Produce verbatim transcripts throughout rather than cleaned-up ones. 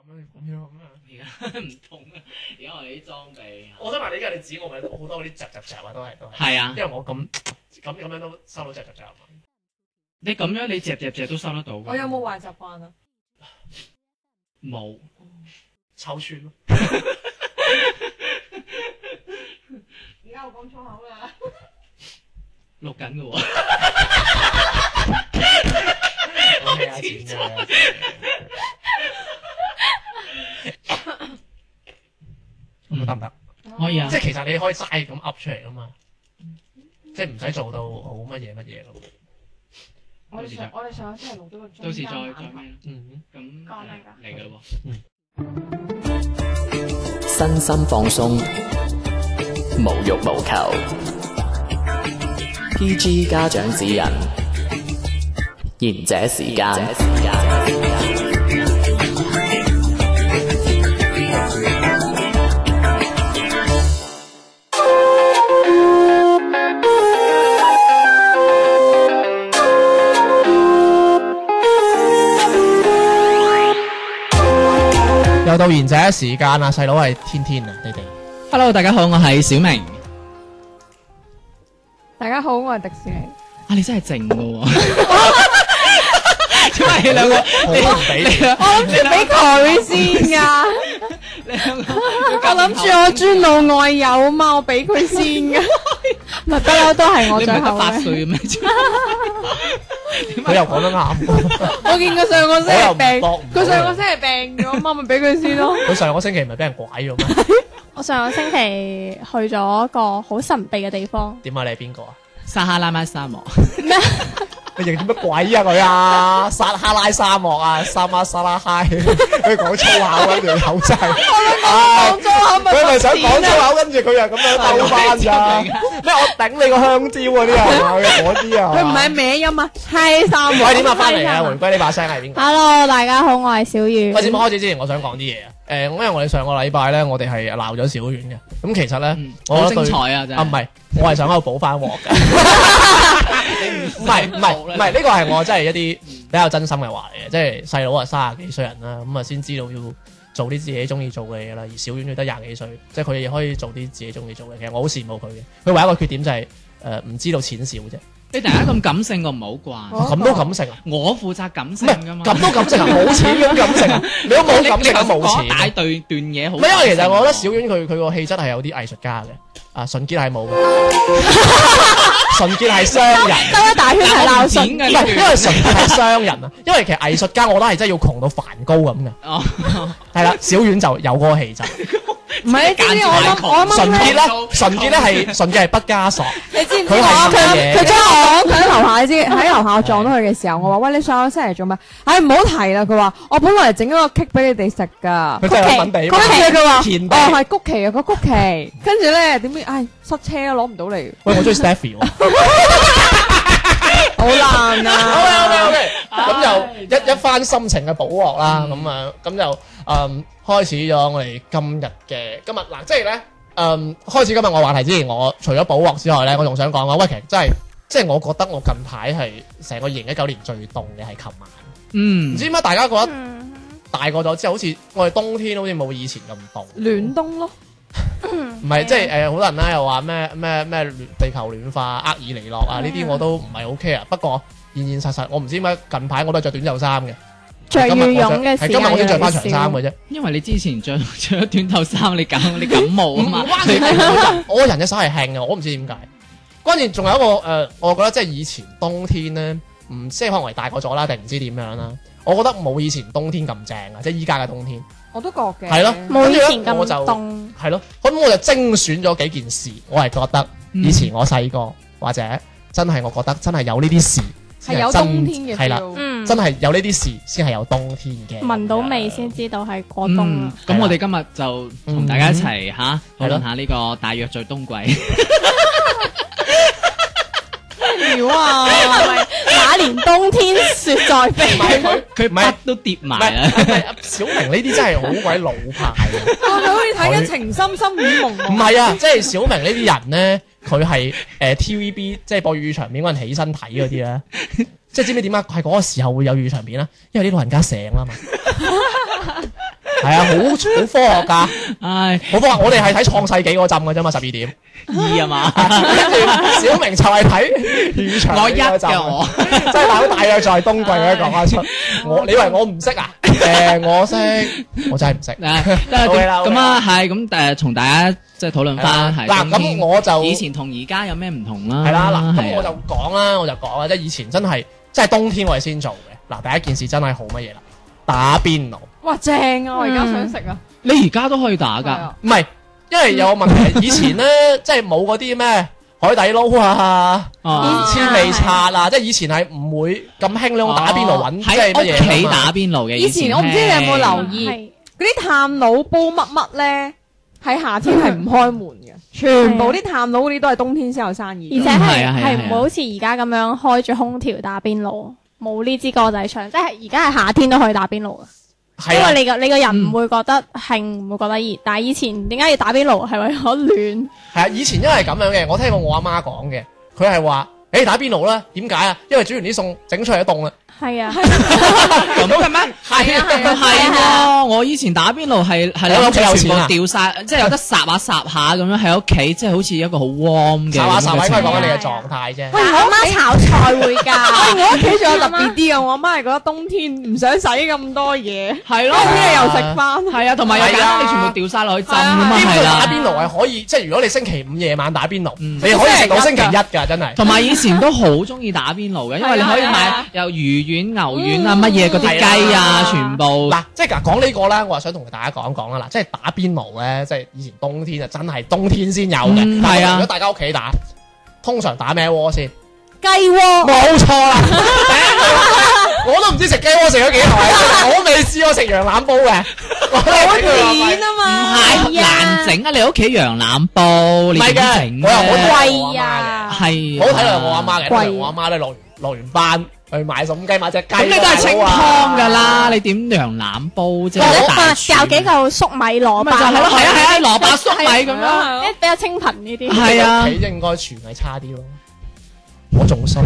咁樣咁樣。 而家唔同啊！而家我哋啲裝備， 我想問你，而家你指我咪好多嗰啲雜雜雜啊，都係都係。 係啊， 因為我咁咁咁樣都收到雜雜雜啊。 你咁樣你隻隻隻都收得到㗎。 我有冇壞習慣啊？ 冇。 抽穿咯。 而家我講粗口啦。 錄緊嘅喎。 我俾下錢啫。咁得唔得？ 可以啊。 即係其實你可以齋咁噏出嚟噶嘛，即係唔使做到好乜嘢乜嘢咯。 我哋上我哋上一次係錄咗個中到時再間再咩？ 嗯。 咁講咩㗎？ 嚟㗎喎。 嗯。 身心放鬆，無欲無求。P G 家長指引，賢者時間。 又到賢者時間啦，細佬係天天啊，你哋。 Hello， 大家好，我係小明。 大家好，我係迪士尼。 啊，你真係靜㗎喎。點解你兩個我都唔俾。 我諗住俾佢先㗎。 你兩個？ 我諗住我尊老愛幼嘛，我俾佢先㗎。唔係不嬲都係我你唔係得最後八歲嘅咩？ 佢又講得啱。 我見佢上個星期病， 我又唔佢上個星期病咗嘛，咪俾佢先咯。 佢上個星期唔係俾人拐咗咩？ 我上個星期去咗一個好神秘嘅地方。 點啊？你係邊個啊？ 撒哈拉沙漠。 你認啲乜鬼啊佢啊？撒哈拉沙漠啊，沙馬沙拉嗨，佢講粗口跟住口真係， 講粗口咪佢咪想講粗口，跟住佢又咁樣兜翻咋？咩我頂你個香蕉嗰啲啊？嗰啲啊？ 佢唔係歪音啊，係三喂，點啊？翻嚟啊！回歸呢把聲係邊個？ Hello，大家好，我係小雨。 喂，節目開始之前，我想講啲嘢啊。誒，因為我哋上個禮拜咧，我哋係鬧咗小丸嘅。咁其實咧，我好覺得對精彩啊！真係。 啊，唔係，我係想喺度補翻鑊嘅。唔係唔係唔係，呢個係我真係一啲比較真心嘅話嚟嘅。即係細佬啊，三十幾歲人啦，咁啊先知道要做啲自己中意做嘅嘢啦。而小丸佢得廿幾歲，即係佢亦可以做啲自己中意做嘅。其實我好羨慕佢嘅。佢唯一一個缺點就係誒唔知道錢少啫。 你大家咁感性，我唔係好慣。 咁都感性啊？ 我負責感性㗎嘛。 咁都感性啊？冇錢咁感性啊？你都冇感性啊？冇錢。 大段段嘢好。 唔係，因為其實我覺得小丸佢佢個氣質係有啲藝術家嘅。啊，純潔係冇嘅。純潔係商人， 兜一大圈係鬧錢嘅，唔係因為純潔係商人啊。因為其實藝術家我覺得係真係要窮到梵高咁嘅。 哦， 係啦，小丸就有嗰個氣質。 唔係，你知唔知我諗我啱純潔咧？純潔咧係純潔係畢加索。 你知唔知佢係我乜嘢佢將我佢喺樓下，你知喺樓下我撞到佢嘅時候，我話喂，你上個星期做咩？唉，唔好提啦。佢話我本來整咗個 cake 俾你哋食㗎。 佢真係揾地。 跟住佢話田地哦係曲奇啊個曲奇，跟住咧點知唉塞車攞唔到嚟。 喂，我中意 Stephy 喎。 好難啊 ！OK OK OK，咁就一一番心情嘅補鑊啦。咁啊，咁就誒開始咗我哋今日嘅今日嗱，即係咧誒開始今日我話題之前，我除咗補鑊之外咧，我仲想講話，喂，其實真係即係我覺得我近排係成個二零一九年最凍嘅係琴晚。 嗯， 唔知點解大家覺得大個咗之後，好似我哋冬天好似冇以前咁凍。 暖冬咯。 唔係即係誒，好多人咧又話咩咩咩地球暖化、厄爾尼諾啊，呢啲我都唔係好 care。不過現現實實，我唔知點解近排我都係着短袖衫嘅， 着羽絨嘅時候， 係今日我先着翻長衫嘅啫。 因為你之前着着咗短袖衫，你感你感冒啊嘛。 唔關事，我個人嘅手係輕嘅，我唔知點解。關鍵仲有一個誒，我覺得即係以前冬天咧，唔即係可能我哋大個咗啦，定唔知點樣啦。我覺得冇以前冬天咁正啊，即係依家嘅冬天。 我都覺嘅。 係咯， 冇以前咁我就凍。 係咯，咁我就精選咗幾件事，我係覺得以前我細個或者真係我覺得真係有呢啲事係有冬天嘅 feel。 係啦， 嗯， 真係有呢啲事先係有冬天嘅。 聞到味先知道係過冬啦。 咁我哋今日就同大家一齊嚇討論下呢個大約在冬季。 料啊！ 那年冬天雪在飛， 佢佢筆都跌埋啦。 小明呢啲真係好鬼老派嘅。 我哋好似睇緊情深深雨濛濛。 唔係啊，即係小明呢啲人咧，佢係誒 T V B 即係播粵語長片嗰陣起身睇嗰啲咧，即係知唔知點解係嗰個時候會有粵語長片啦？因為啲老人家醒啦嘛。 係啊，好好科學㗎， 唉， 好科學。我哋係睇創世紀嗰陣嘅啫嘛，十二點。 二啊嘛， 跟住小明就係睇雨場我一嗰陣嘅我， 即係大佬大約就係冬季嗰啲講翻出。我你以為我唔識啊？誒，我識，我真係唔識。 誒咁啊，係咁誒，同大家即係討論翻係。 嗱，咁我就以前同而家有咩唔同啦？ 係啦，嗱，咁我就講啦，我就講啦，即係以前真係，即係冬天我哋先做嘅。嗱，第一件事真係好乜嘢啦，打邊爐。 哇，正啊！我而家想食啊。 你而家都可以打㗎？ 唔係。因為有個問題，以前咧即係冇嗰啲咩海底撈啊、千里刷啊，即係以前係唔會咁興呢種打邊爐揾，即係乜嘢喺屋企打邊爐嘅。 以前我唔知你有冇留意嗰啲炭爐煲乜乜咧，喺夏天係唔開門嘅，全部啲炭爐嗰啲都係冬天先有生意， 而且係係唔會好似而家咁樣開住空調打邊爐，冇呢支歌仔唱，即係而家係夏天都可以打邊爐啊。因為你個你個人唔會覺得興，唔會覺得熱，但係以前點解要打邊爐係為咗暖？係啊，以前因為咁樣嘅，我聽過我阿媽講嘅，佢係話：誒打邊爐啦，點解啊？因為煮完啲餸整出嚟都凍啦。 係啊， 咁嘅咩？ 係啊係啊係啊！我以前打邊爐係係喺屋企有錢啊， 掉晒，即係有得霎下霎下咁樣喺屋企，即係好似一個好 warm 嘅。 霎下霎下應該講緊你嘅狀態啫。 喂，我阿媽炒菜會㗎。 我屋企仲有特別啲嘅，我阿媽係覺得冬天唔想洗咁多嘢， 係咯， 冬天又食翻， 係啊，同埋有簡單你全部掉晒落去浸㗎嘛，係啦。 打邊爐係可以，即係如果你星期五夜晚打邊爐，你可以食到星期一㗎，真係。 同埋以前都好中意打邊爐嘅，因為你可以買有魚丸、牛丸啊，乜嘢嗰啲雞啊，全部嗱，即係嗱講呢個咧，我係想同大家講一講啦。嗱，即係打邊爐咧，即係以前冬天啊，真係冬天先有嘅。係啊，如果大家屋企打，通常打咩鍋先？ 雞鍋。 冇錯啦，我都唔知食雞鍋食咗幾耐，我未試過食羊腩煲嘅。 好甜啊嘛， 唔係難整啊！你屋企羊腩煲，你點整？ 我又好貴啊， 係好睇落我阿媽嘅，我阿媽咧落落完班。去買餸雞買隻雞， 咁你都係清湯噶啦，你點羊腩煲啫？ 掉幾嚿粟米蘿蔔， 咪就係咯，係啊係啊，蘿蔔粟米咁樣， 比較清貧呢啲。 係啊， 屋企應該廚藝差啲咯，我仲衰。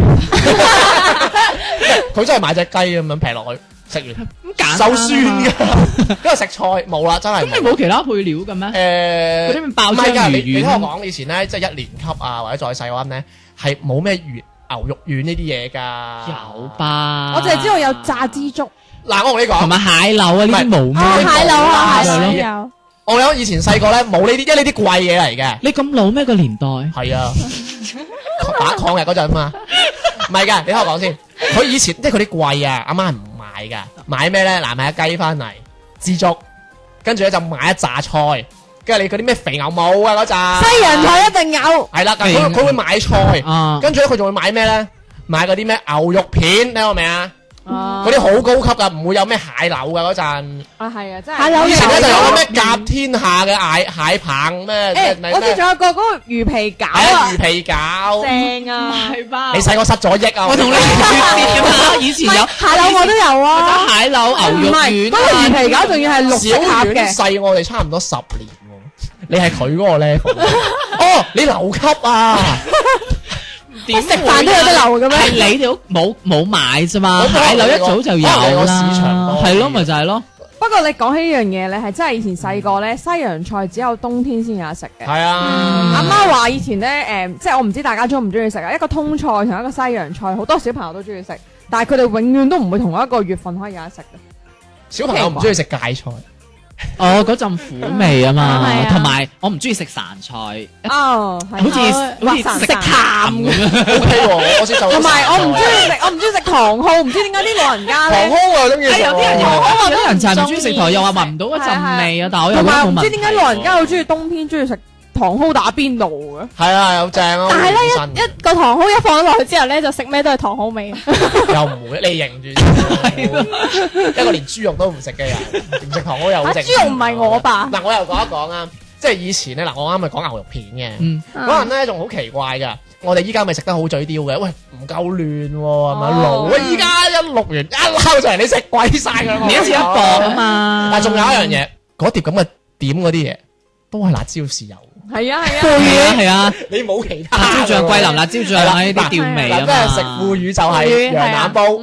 佢真係買隻雞咁樣劈落去，食完手酸㗎，因為食菜冇啦，真係。 咁你冇其他配料嘅咩？誒，嗰啲咩爆漿魚丸。 你你聽我講，以前咧即係一年級啊或者再細嗰陣咧，係冇咩魚。牛肉丸呢啲嘢㗎， 有吧？ 我淨係知道有炸枝竹。 嗱，我同你講， 同埋蟹柳啊，呢啲冇咩？ 蟹柳啊，蟹柳有。 我有以前細個咧冇呢啲，因為呢啲貴嘢嚟嘅。 你咁老咩個年代？ 係啊，打抗日嗰陣嘛。唔係㗎，你聽我講先。佢以前即係佢啲貴啊，阿媽係唔買㗎。買咩咧？嗱，買隻雞翻嚟，枝竹，跟住咧就買一紮菜。跟住你嗰啲咩肥牛冇啊嗰陣， 西洋菜一定有。 係啦，佢佢會買菜，跟住咧佢仲會買咩咧？買嗰啲咩牛肉片，你聽過未啊？嗰啲好高級噶，唔會有咩蟹柳噶嗰陣。 啊係啊，真係。 蟹柳以前咧就有咩甲天下嘅蟹蟹棒咩？ 誒，我哋仲有個嗰個魚皮餃啊， 魚皮餃正啊， 係吧？ 你細個失咗憶啊！ 我同你絕㗎嘛，以前有蟹柳我都有啊， 蟹柳牛肉丸。 嗰個魚皮餃仲要係綠色盒嘅， 細我哋差唔多十年。你係佢嗰個 level 哦，你留級啊？ 點食飯都有得留嘅咩？ 係你哋冇冇買啫嘛？蟹柳一早就有啦，係咯，咪就係咯。 不過你講起呢樣嘢，你係真係以前細個咧，西洋菜只有冬天先有得食嘅。 係啊， 阿媽話以前咧，誒，即係我唔知大家中唔中意食啊。一個通菜同一個西洋菜，好多小朋友都中意食，但係佢哋永遠都唔會同一個月份可以有得食嘅。 小朋友唔中意食芥菜。 哦，嗰陣苦味啊嘛，同埋我唔中意食潺菜， 哦， 好似好似食淡咁樣。 O K 喎，我先就。 同埋我唔中意食，我唔中意食糖蒿，唔知點解啲老人家咧。 糖蒿我中意食。 有啲人又有啲人就係唔中意食糖，又話聞唔到嗰陣味啊，但係我又覺得冇問題。 唔知點解老人家好中意冬天中意食糖蒿打邊爐嘅。 係啊，有正啊。 但係咧一一個糖蒿一放咗落去之後咧，就食咩都係糖蒿味。 又唔會，你認住。一個連豬肉都唔食嘅人，唔食糖蒿又好正。 豬肉唔係我吧？ 嗱，我又講一講啊，即係以前咧，嗱，我啱咪講牛肉片嘅，嗰人咧仲好奇怪㗎。我哋依家咪食得好嘴刁嘅，喂唔夠嫩喎，係咪爐？喂，依家一錄完一撈就嚟，你食鬼晒㗎， 你一次一磅啊嘛。 但係仲有一樣嘢，嗰碟咁嘅點嗰啲嘢都係辣椒豉油。 係啊係啊， 腐乳係啊， 你冇其他。 辣椒醬、桂林辣椒醬呢啲調味啊嘛。 即係食腐乳就係羊腩煲。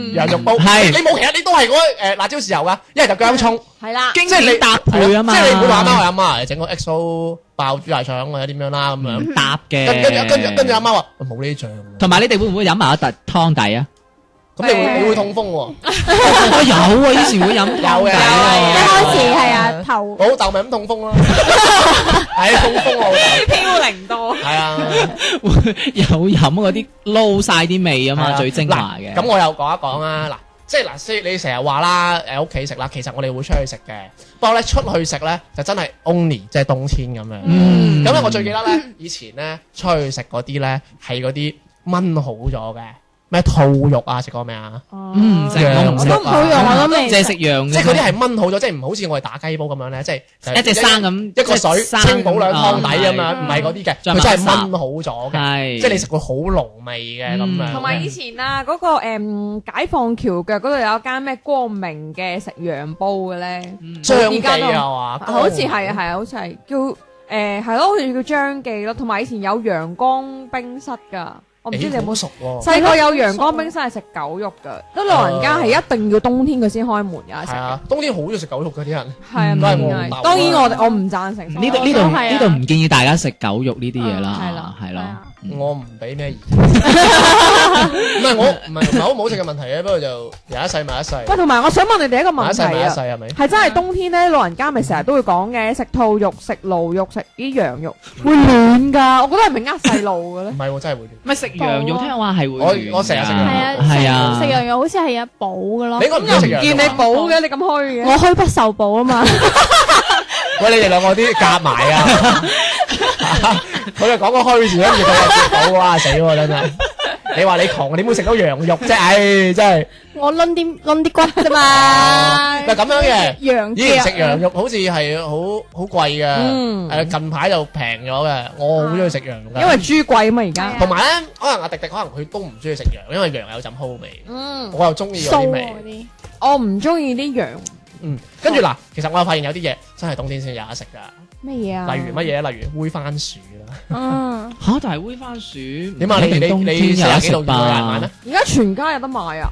羊肉煲， 係你冇其他，你都係嗰誒辣椒豉油噶，一係就薑葱， 係啦， 經典搭配啊嘛， 即係你唔會話阿媽話阿媽整個 X O 爆豬大腸或者點樣啦咁樣搭嘅， 跟跟住跟住跟住阿媽話冇呢啲醬， 同埋你哋會唔會飲埋一笪湯底啊？ 咁你會你會痛風喎？ 我有啊，以前會飲有嘅， 一開始係啊頭， 我老豆咪咁痛風咯，係痛風我老豆， 飄零多， 係啊。 有飲嗰啲撈晒啲味啊嘛，最精華嘅。 咁我又講一講啊，嗱，即係嗱，先你成日話啦，誒屋企食啦，其實我哋會出去食嘅，不過咧出去食咧就真係 only 即係冬天咁樣。 嗯， 咁咧我最記得咧，以前咧出去食嗰啲咧係嗰啲炆好咗嘅。咩兔肉啊？食過未啊？ 嗯，食我唔食我都唔好用，我都未。 淨係食羊嘅， 即係嗰啲係炆好咗，即係唔好似我哋打雞煲咁樣咧，即係一隻生咁， 一個水清補兩湯底咁樣， 啊唔係嗰啲嘅， 再佢真係麻炆好咗嘅， 係即係你食會好濃味嘅咁嗯樣。 同埋以前啊，嗰個誒解放橋腳嗰度有間咩光明嘅食羊煲嘅咧， 張記而家都啊嘛， 好似係啊係啊，好似係叫誒係咯，好似叫張記咯。同埋以前有陽光冰室㗎。我唔知你有冇熟喎？ 細個有陽光冰室係食狗肉㗎，啲老人家係一定要冬天佢先開門㗎食嘅。 係啊，冬天好中意食狗肉嗰啲人。 係啊， 都係我唔係老豆當然我哋我唔贊成。 呢度呢度都係啊呢度唔建議大家食狗肉呢啲嘢嗯係啦啦， 係咯。 我唔俾咩意見，唔係我唔係唔係好唔好食嘅問題嘅，不過就有一世埋一世， 喂，同埋我想問你哋一個埋一世埋問題啊， 一世係咪？ 係真係冬天咧，老人家咪成日都會講嘅，食兔肉、食驢肉、食啲羊肉會暖㗎。我覺得係咪呃細路嘅咧唔？係喎，真係會亂。 唔係食羊肉，聽話係會我暖㗎我成日食羊肉係啊， 係啊， 食羊肉好似係有補嘅咯你。應該唔中意食羊見你肉啊。 補嘅，你咁虛嘅。 我虛不受補啊嘛， 喂，你哋兩個啲夾埋啊！佢就講個虛字，跟住佢又接到，哇死喎真係！你話你窮，點會食到羊肉啫？唉，真係。 我攆啲攆啲骨啫嘛。 嗱咁樣嘅， 羊以前食腳羊肉好似係好好貴嘅， 嗯誒近排就平咗嘅。我好中意食羊肉㗎， 因為豬貴啊嘛而家。 同埋咧，可能阿迪迪可能佢都唔中意食羊，因為羊有陣蒿味， 嗯， 我又中意嗰酥啲味。 嗰啲， 我唔中意啲羊。 嗯，跟住嗱，其實我又發現有啲嘢真係冬天先有得食㗎， 咩嘢啊？ 例如乜嘢？例如煨番薯啦。 嗯， 嚇，但係煨番薯點啊？你你你四十幾度要有人買咩？？ 而家全家有得買啊！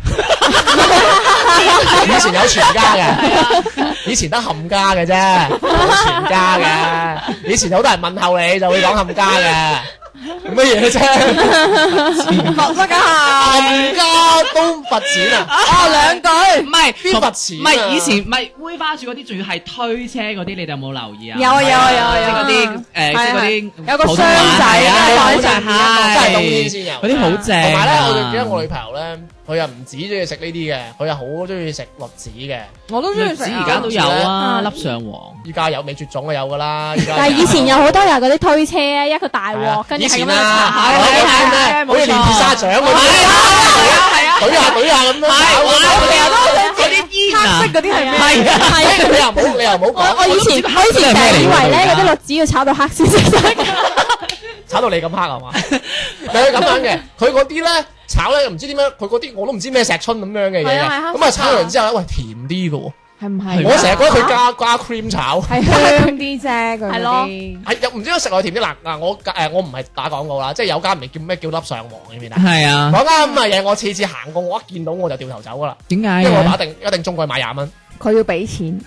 以前有全家嘅，以前得冚家嘅啫，冇全家嘅。以前好多人問候你就會講冚家嘅，乜嘢啫？ 罰乜㗎？ 冚家都罰錢啊！ 哦，兩句。 唔係邊罰錢啊唔係以前唔係煨番薯嗰啲，仲要係推車嗰啲，你哋有冇留意啊？ 有啊有啊有啊有啊即係嗰啲誒，即係嗰啲有個普通話箱仔係啊跟住好正放喺上面係真係冬天先有嗰啲好正啊。 同埋咧，我就記得我女朋友咧，佢又唔止中意食呢啲嘅，佢又好中意食栗子嘅。 我都中意食啊。 而家都有啊， 嗯粒上皇。 依家有未絕種嘅有㗎啦。依家但係以前有好多有嗰啲推車，一個大鑊，跟住以前係咁樣啊， 炒我嗰係係啲咧，好似練鐵砂掌嗰啲， 係啊係啊懟下懟下咁樣炒嗰啲。 我成日都好想嗰啲煙啊， 黑色嗰啲係咩？ 係啊係啊，你又冇你又冇我講， 我以前我以前成日以為咧嗰啲栗子要炒到黑先食得。 炒到你咁黑係嘛？但係咁樣嘅，佢嗰啲咧炒咧唔知點樣，佢嗰啲我都唔知咩石春咁樣嘅嘢嘅， 係啊係啊咁啊炒完之後咧，喂甜啲嘅喎， 係唔係？ 我成日覺得佢加加 cream 炒。 係香啲啫，佢係咯嗰啲。 係又唔知道食落甜啲嗱嗱，我誒我唔係打廣告啦，即係有間唔係叫咩叫粒上皇呢邊啊？ 係啊， 嗰間咁嘅嘢，我次次行過，我一見到我就掉頭走噶啦， 點解因為我一嘅？ 定一定中過去買廿蚊， 佢要俾錢。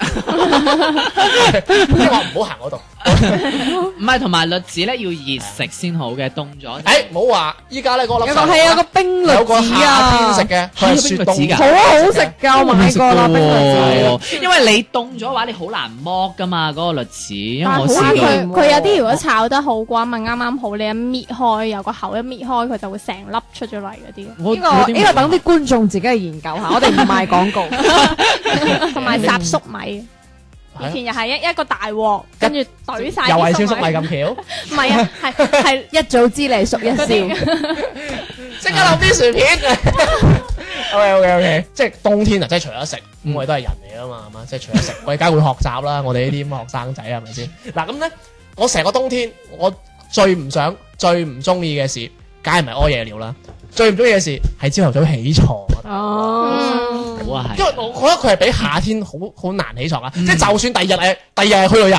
即係話唔好行嗰度。 唔係，同埋栗子咧要熱食先好嘅，凍咗。 誒唔好話依家咧嗰粒有個上皇係有個冰栗有個子夏天啊， 食嘅，佢係雪凍係有冰栗子㗎好好食㗎，我買過啦冰栗子。 因為你凍咗嘅話，你好難剝噶嘛，嗰個栗子，因為我但係好試過。 難佢佢有啲如果炒得好嘅話，咪啱啱好，你一搣開有個口一搣開，佢就會成粒出咗嚟嗰啲。 我呢個呢個等啲觀眾自己去研究下，我哋唔賣廣告。 同埋雜粟米，以前又係一一個大鑊，跟住懟晒又係啲燒粟米咁巧， 唔係啊，係係一早知你熟一笑。 即刻留啲薯片。OK OK OK，即係冬天啊，即係除咗食，咁我哋都係人嚟啊嘛，係嘛？即係除咗食，我哋梗係會學習啦。我哋呢啲咁嘅學生仔係咪先？嗱咁咧，我成個冬天我最唔想、最唔中意嘅事，梗係唔係屙夜尿啦。最唔中意嘅事係朝頭早起床。 哦， 好啊，係。 因為我覺得佢係比夏天好好難起床啊！即係就算第二日誒，第二日係去旅遊，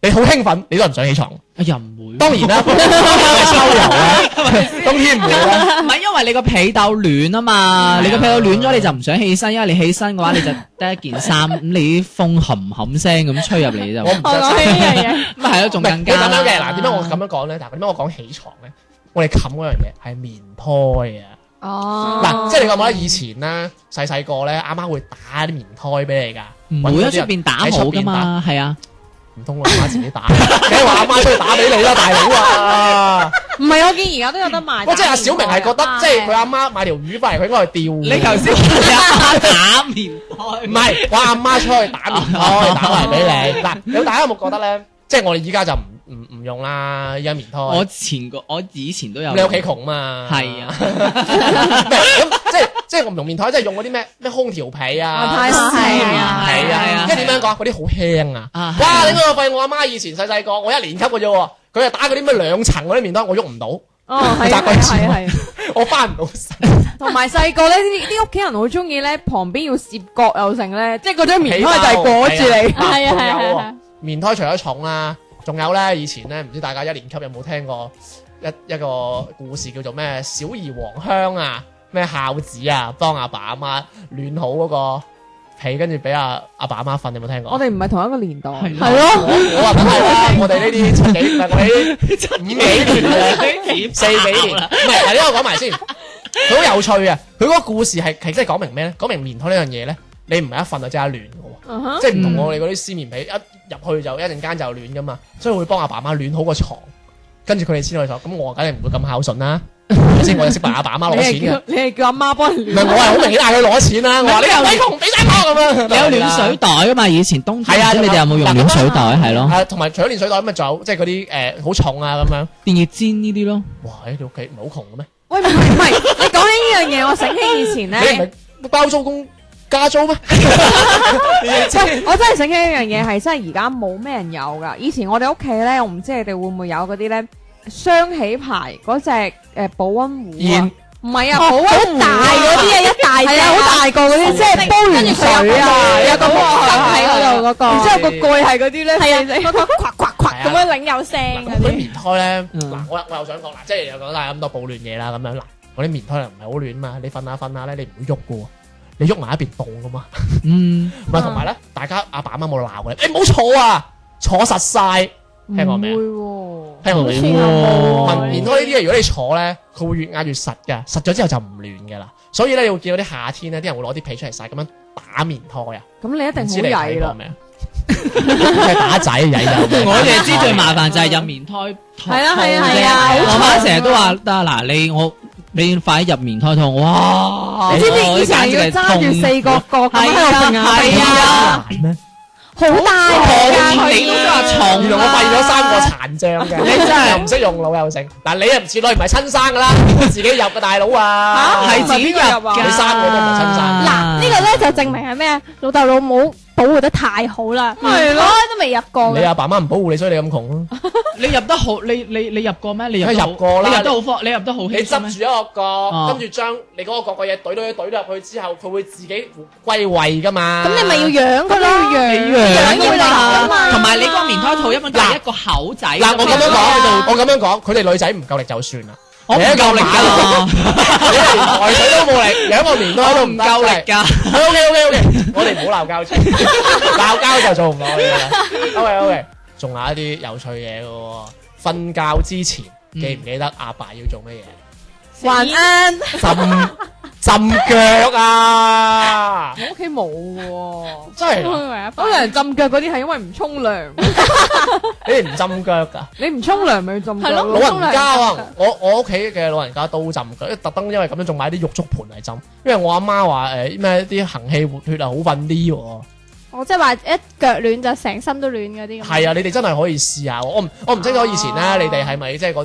你好興奮，你都唔想起床。 又唔會。 當然啦，秋遊啦，冬天唔會啦。 唔係因為你個被竇暖啊嘛，你個被竇暖咗你就唔想起身，因為你起身嘅話你就得一件衫，咁你啲風冚冚聲咁吹入嚟就。 我唔我講起呢樣嘢， 咁係咯，仲更加咁樣嘅。嗱，點解我咁樣講咧？嗱，點解我講起床咧？我哋冚嗰樣嘢係棉胎啊！ 哦， 嗱，即係你覺唔覺得以前咧細細個咧，阿媽會打啲棉胎俾你㗎？ 唔會喺出邊打好噶嘛，係啊。 唔通我阿媽自己打？梗係話阿媽出去打俾你啦，大佬啊！ 唔係，我見而家都有得賣。 我即係阿小明係覺得，即係佢阿媽買條魚翻嚟，佢應該去釣。 你頭先話你阿媽打棉胎， 唔係我阿媽出去打棉胎，打埋俾你。嗱，你大家有冇覺得咧？即係我哋依家就唔唔唔用啦，依家棉胎。 我前個我以前都有。 你屋企窮嘛？ 係啊。 咁即係即係我唔用棉胎，即係用嗰啲咩咩空調被啊。 太絲係啊係啊。即係點樣講？嗰啲好輕啊！哇！你我發現我阿媽以前細細個，我一年級嘅啫喎，佢係打嗰啲咩兩層嗰啲棉胎，我喐唔到。 哦，係啊，係啊，係。 我翻唔到身。 同埋細個咧，啲啲屋企人好中意咧，旁邊要攝角又成咧，即係嗰張棉胎就係裹住你。 係啊係啊係啊。 棉胎除咗重啦，仲有咧以前咧，唔知大家一年級有冇聽過一一個故事叫做咩小兒黃香啊，咩孝子啊，幫阿爸阿媽暖好嗰個被，跟住俾阿阿爸阿媽瞓，有冇聽過？ 我哋唔係同一個年代， 係係咯。 我話梗係啦，我哋呢啲七幾，唔係我哋呢啲五幾年嘅，四幾年，唔係，嗱呢個講埋先，佢好有趣啊！佢嗰個故事係係即係講明咩咧？講明棉胎呢樣嘢咧，你唔係一瞓就即刻暖嘅喎，即係唔同我哋嗰啲絲棉被一入去就一陣間就暖噶嘛，所以會幫阿爸媽暖好個床，跟住佢哋先去坐。咁我梗係唔會咁孝順啦，先我就識幫阿爸阿媽攞錢嘅。 你係叫阿媽幫你唔係我係好明顯嗌佢攞錢啦。我話你又俾窮俾晒我咁樣。 你有暖水袋噶嘛？以前冬天， 係啊， 你哋有冇用暖水袋？係咯。 係同埋除咗暖水袋咁啊，仲有即係嗰啲誒好重啊咁樣。 電熱氈呢啲咯。 哇！喺你屋企唔係好窮嘅咩？ 喂，唔係唔係，你講起呢樣嘢，我醒起以前你唔咧， 係包租公加租咩？ 喂，我真係醒起一樣嘢，係真係而家冇咩人有噶。以前我哋屋企咧，我唔知你哋會唔會有嗰啲咧雙起牌嗰隻誒保溫壺啊？唔係啊，保溫壺大嗰啲啊，一大係啊，好大個嗰啲，即係煲完水啊，有個毛巾喺嗰度嗰個，然之後個蓋係嗰啲咧， 係啊，嗰個夸夸夸咁樣擰有聲嗰嗰啲啲。 棉胎咧，嗱我我又想講嗱，即係又講晒咁多保暖嘢啦，咁樣嗱，嗰啲棉胎又唔係好暖嘛，你瞓下瞓下咧，你唔會喐嘅喎，你喐埋一邊凍噶嘛， 嗯， 唔係同埋咧，大家阿爸阿媽冇鬧嘅，你唔好坐啊，坐實晒，聽過未啊？聽過未？ 喎棉胎呢啲嘢，如果你坐咧，佢會越壓越實㗎，實咗之後就唔暖㗎啦。所以咧，你會見到啲夏天咧，啲人會攞啲被出嚟曬，咁樣打棉胎啊。 咁你一唔知定好曳啦。 你睇過未啊？係打仔曳就我哋知最麻煩就係入棉胎套。 係啊係啊係啊我媽成日都話得嗱，你我你快啲入棉胎套，哇！ 你知唔知以前要揸住四個角咁喺度揈下係啊難咩？ 好大㗎你都話佢。 重， 原來我發現咗三個殘障嘅，你真係又唔識用腦又成。嗱，你又唔似女，唔係親生噶啦，自己入嘅大佬啊， 係自己入㗎。 你三個都唔係親生。 嗱，呢個咧就證明係咩啊？老豆老母保護得太好啦， 係咯我都未入過嘅。 你阿爸媽唔保護你，所以你咁窮咯。 你入得好，你你你入過咩？你入得好入過啦你入得好方，你入得好你輕鬆咩執住一個角， 哦跟住將你嗰個角個嘢懟懟懟入去之後，佢會自己歸位噶嘛。 咁你咪要養佢咯， 你養養要嚟啊嘛。 同埋你嗰個棉胎套一般就係一個口仔。 嗱，我咁樣講，我咁樣講，佢哋女仔唔夠力就算啦。 我唔夠力㗎， 你連抬水都冇力，養個棉胎都唔夠力。 㗎。 O K O K O K，我哋唔好鬧交住，鬧交就做唔落去啦。O K O K，仲有一啲有趣嘢嘅喎。瞓覺之前記唔記得阿爸要做乜嘢？ 晚安。 浸浸腳啊！ 我屋企冇喎， 真係㗎， 有人浸腳嗰啲係因為唔沖涼， 你哋唔浸腳㗎？ 你唔沖涼咪要浸腳係咯咯。 老人家啊，我我屋企嘅老人家都浸腳，特登因為咁樣仲買啲浴足盤嚟浸，因為我阿媽話誒咩啲行氣活血啊好瞓啲喎。 我即係話一腳暖就成身都暖嗰啲咁。 係啊，你哋真係可以試下。我唔我唔清楚以前咧，你哋係咪即係嗰啲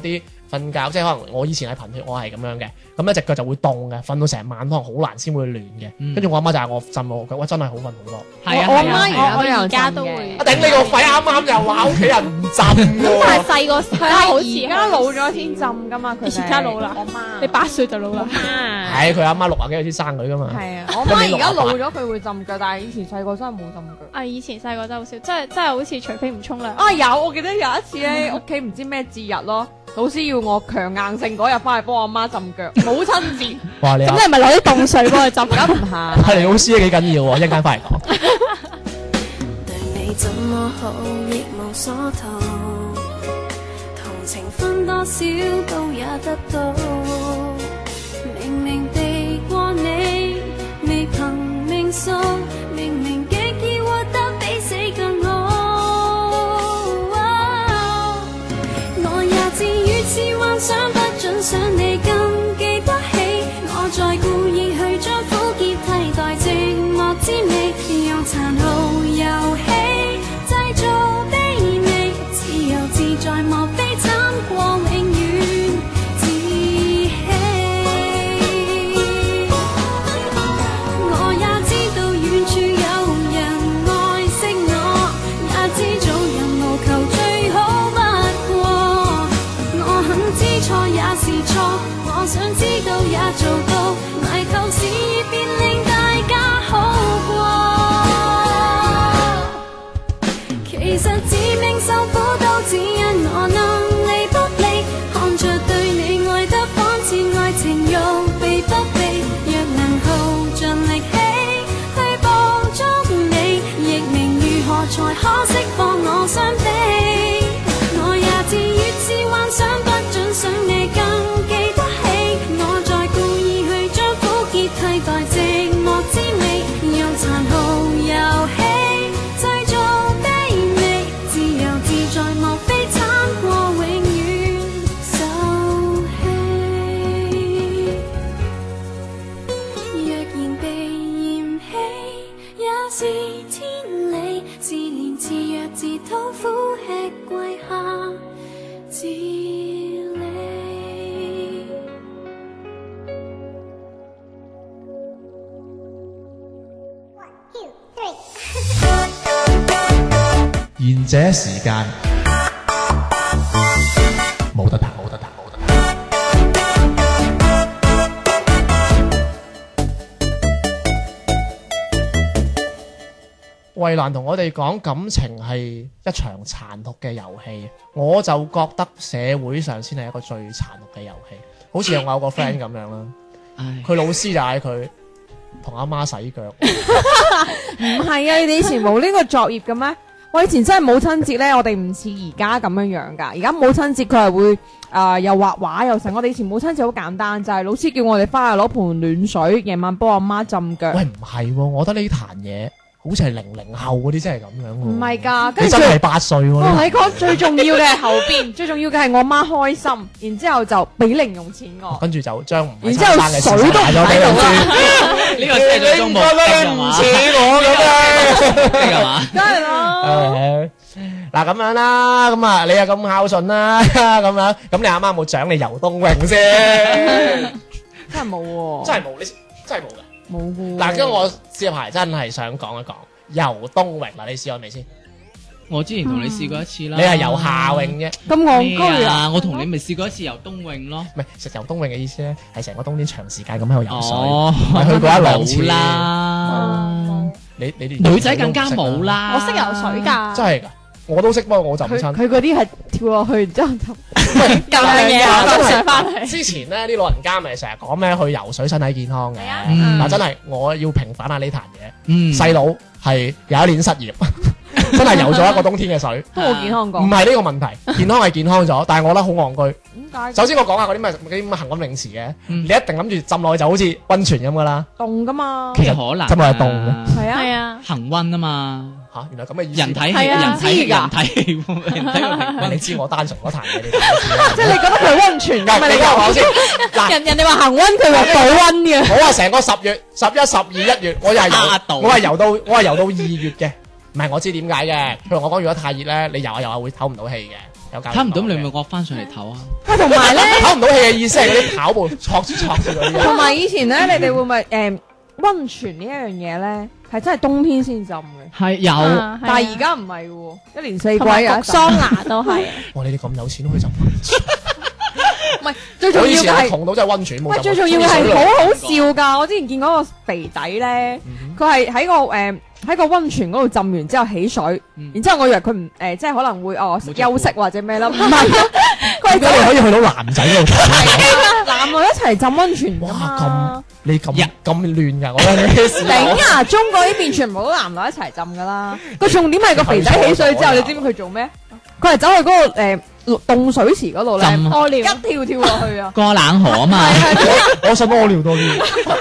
瞓覺，即係可能我以前係貧血，我係咁樣嘅，咁一隻腳就會凍嘅，瞓到成晚可能好難先會暖嘅。跟住我阿媽就係我浸我腳，哇真係好瞓好多。 係啊， 我阿係啊媽而家都有而家浸嘅都會啊頂你個肺！啱啱又話屋企人唔浸喎。 但係細個時係啊， 好似而家老咗先浸噶嘛，佢哋而家老啦我媽你八歲就老啦。 媽係佢阿媽六啊幾歲先生佢噶嘛。 係啊，我媽而家老咗佢會浸腳，但係以前細個真係冇浸腳。 啊！以前細個真係好少，真係真係好似除非唔沖涼。 啊有，我記得有一次咧，屋企唔知咩節日咯，老師要我強硬性嗰日翻去幫我媽浸腳，母親節。 哇！你咁你係咪攞啲凍水幫佢浸？ 咁唔係， 係你老師都幾緊要喎，一陣間翻嚟講。 對你怎麼好亦無所圖，同情分多少都也得到，明明避過你，未憑命數，明明極易活得比死更好。我也自如此幻想，不准想你更記得起，我再故意去將苦澀替代寂寞滋味，用殘酷遊戲製造卑微，自由自在莫非慘過永遠自欺。我也知道遠處有人愛惜我，也知做人無求最好不過，我很知錯也是錯，我想知道也做到，埋頭事業便令大家好過。其實致命受苦都只因我能力不利，看着對你愛得仿似愛情欲避不避，若能耗盡力氣去捕捉你，亦明如何才可釋放我傷悲。我也自越是幻想，不准想你更記得起，我再故意去將苦澀替代寂寞滋味，用殘酷遊戲製造卑微，自由自在莫非慘過永遠受氣。若然被嫌棄也是天理，自憐自弱自討苦吃跪下自理。 賢者時間冇得彈，冇得彈，冇得彈。衛蘭同我哋講感情係一場殘酷嘅遊戲，我就覺得社會上先係一個最殘酷嘅遊戲。好似我有個 friend 咁樣啦， 唉佢老師就嗌佢同阿媽洗腳。 唔係啊！你哋以前冇呢個作業嘅咩？我以前真係母親節咧，我哋唔似而家咁樣樣㗎。而家母親節佢係會誒、呃、又畫畫又成。我哋以前母親節好簡單，就係、是、老師叫我哋翻去攞盆暖水，夜晚幫阿媽浸腳。 喂，唔係喎，我覺得呢壇嘢好似係零零後嗰啲真係咁樣喎。 唔係㗎， 你跟住真係八歲喎。 我呢同你講最重要嘅係後邊，最重要嘅係我媽開心，然之後就俾零用錢我。 跟住就將唔係然之後親生嘅水都唔咗俾老喺度啦師。 呢個社最中冇唔似我咁樣。 係嘛？ 梗係啦。 嗱咁樣啦，咁啊你又咁孝順啦，咁樣咁你阿媽冇獎你游冬泳先？ 真係冇喎， 真係冇，你真係冇嘅。 冇嘅。 嗱，跟住我接排真係想講一講游冬泳嗱，你試過未先？ 我之前同你試過一次啦。 你係游夏泳啫， 咁戇咩居啊！ 啊？我同你咪試過一次游冬泳咯。 唔係食游冬泳嘅意思咧，係成個冬天長時間咁喺度游水， 哦， 唔係去過一兩次啦。 你你連女仔更加冇啦。 我識游水㗎， 真係㗎，我都識，不過我就唔佢親。 佢嗰啲係跳落去，然之後就咁樣嘢啊真係我上翻嚟。 之前咧啲老人家咪成日講咩去游水身體健康嘅， 嗯嗱真係我要平反下呢壇嘢。 嗯， 細佬係有一年失業，真係游咗一個冬天嘅水， 都冇健康過。 唔係呢個問題，健康係健康咗，但係我覺得好戇居。 點解首先我講下嗰啲咩嗰啲咁嘅恆溫泳池嘅， 嗯你一定諗住浸落去就好似温泉咁噶啦， 凍噶嘛？ 其實可能真係凍嘅係啊， 係啊， 恒溫啊嘛， 嚇，原來咁嘅意思。 人體氣係啊人體知㗎人體氣人體個平喂， 均你知我單純嗰壇嘢，你大概知啦即係你覺得佢温泉咁啊？ 你你講聽我講先，嗱， 人人哋話恆温，佢話保温嘅。 我話成個十月、十一、十二、一月，我又係嚇到游，我係游到，我係游到二月嘅。唔係我知點解嘅，譬如我講，如果太熱咧，你游下游下會唞唔到氣嘅。 有教練睇唔到講嘅你咪惡翻上嚟唞啊！ 喂，同埋咧， 唞唔到氣嘅意思係嗰啲跑步挫住挫住嗰啲同啊。 埋以前咧，你哋會唔會誒温泉呢一樣嘢咧，係真係冬天先浸嘅， 係有啊但係而家唔係喎，一年四季同埋焗有一浸桑拿都係。 哇！你哋咁有錢都可以浸温泉。 唔係最重我以前係要嘅係。 窮到真係温泉冇浸過。 喂，最重要嘅係好好笑㗎！我之前見嗰個肥仔咧，佢係喺個誒喺個温泉嗰度浸完之後起水， 嗯然之後我以為佢唔誒即係可能會哦冇着休息或者咩啦，唔係啊，佢係點解你可以去到男仔嗰度睇？ 男女一齊浸温泉㗎哇！ 嘛。 咁你咁呀咁亂㗎，我覺得你嘅事。 頂啊！中國呢邊全部都男女一齊浸㗎啦。個重點係個肥仔起水之後，你知唔知佢做咩？佢係走去嗰個誒凍水池嗰度咧， 浸屙尿一跳跳落去啊！ 過冷河啊嘛， 我我想屙尿多啲。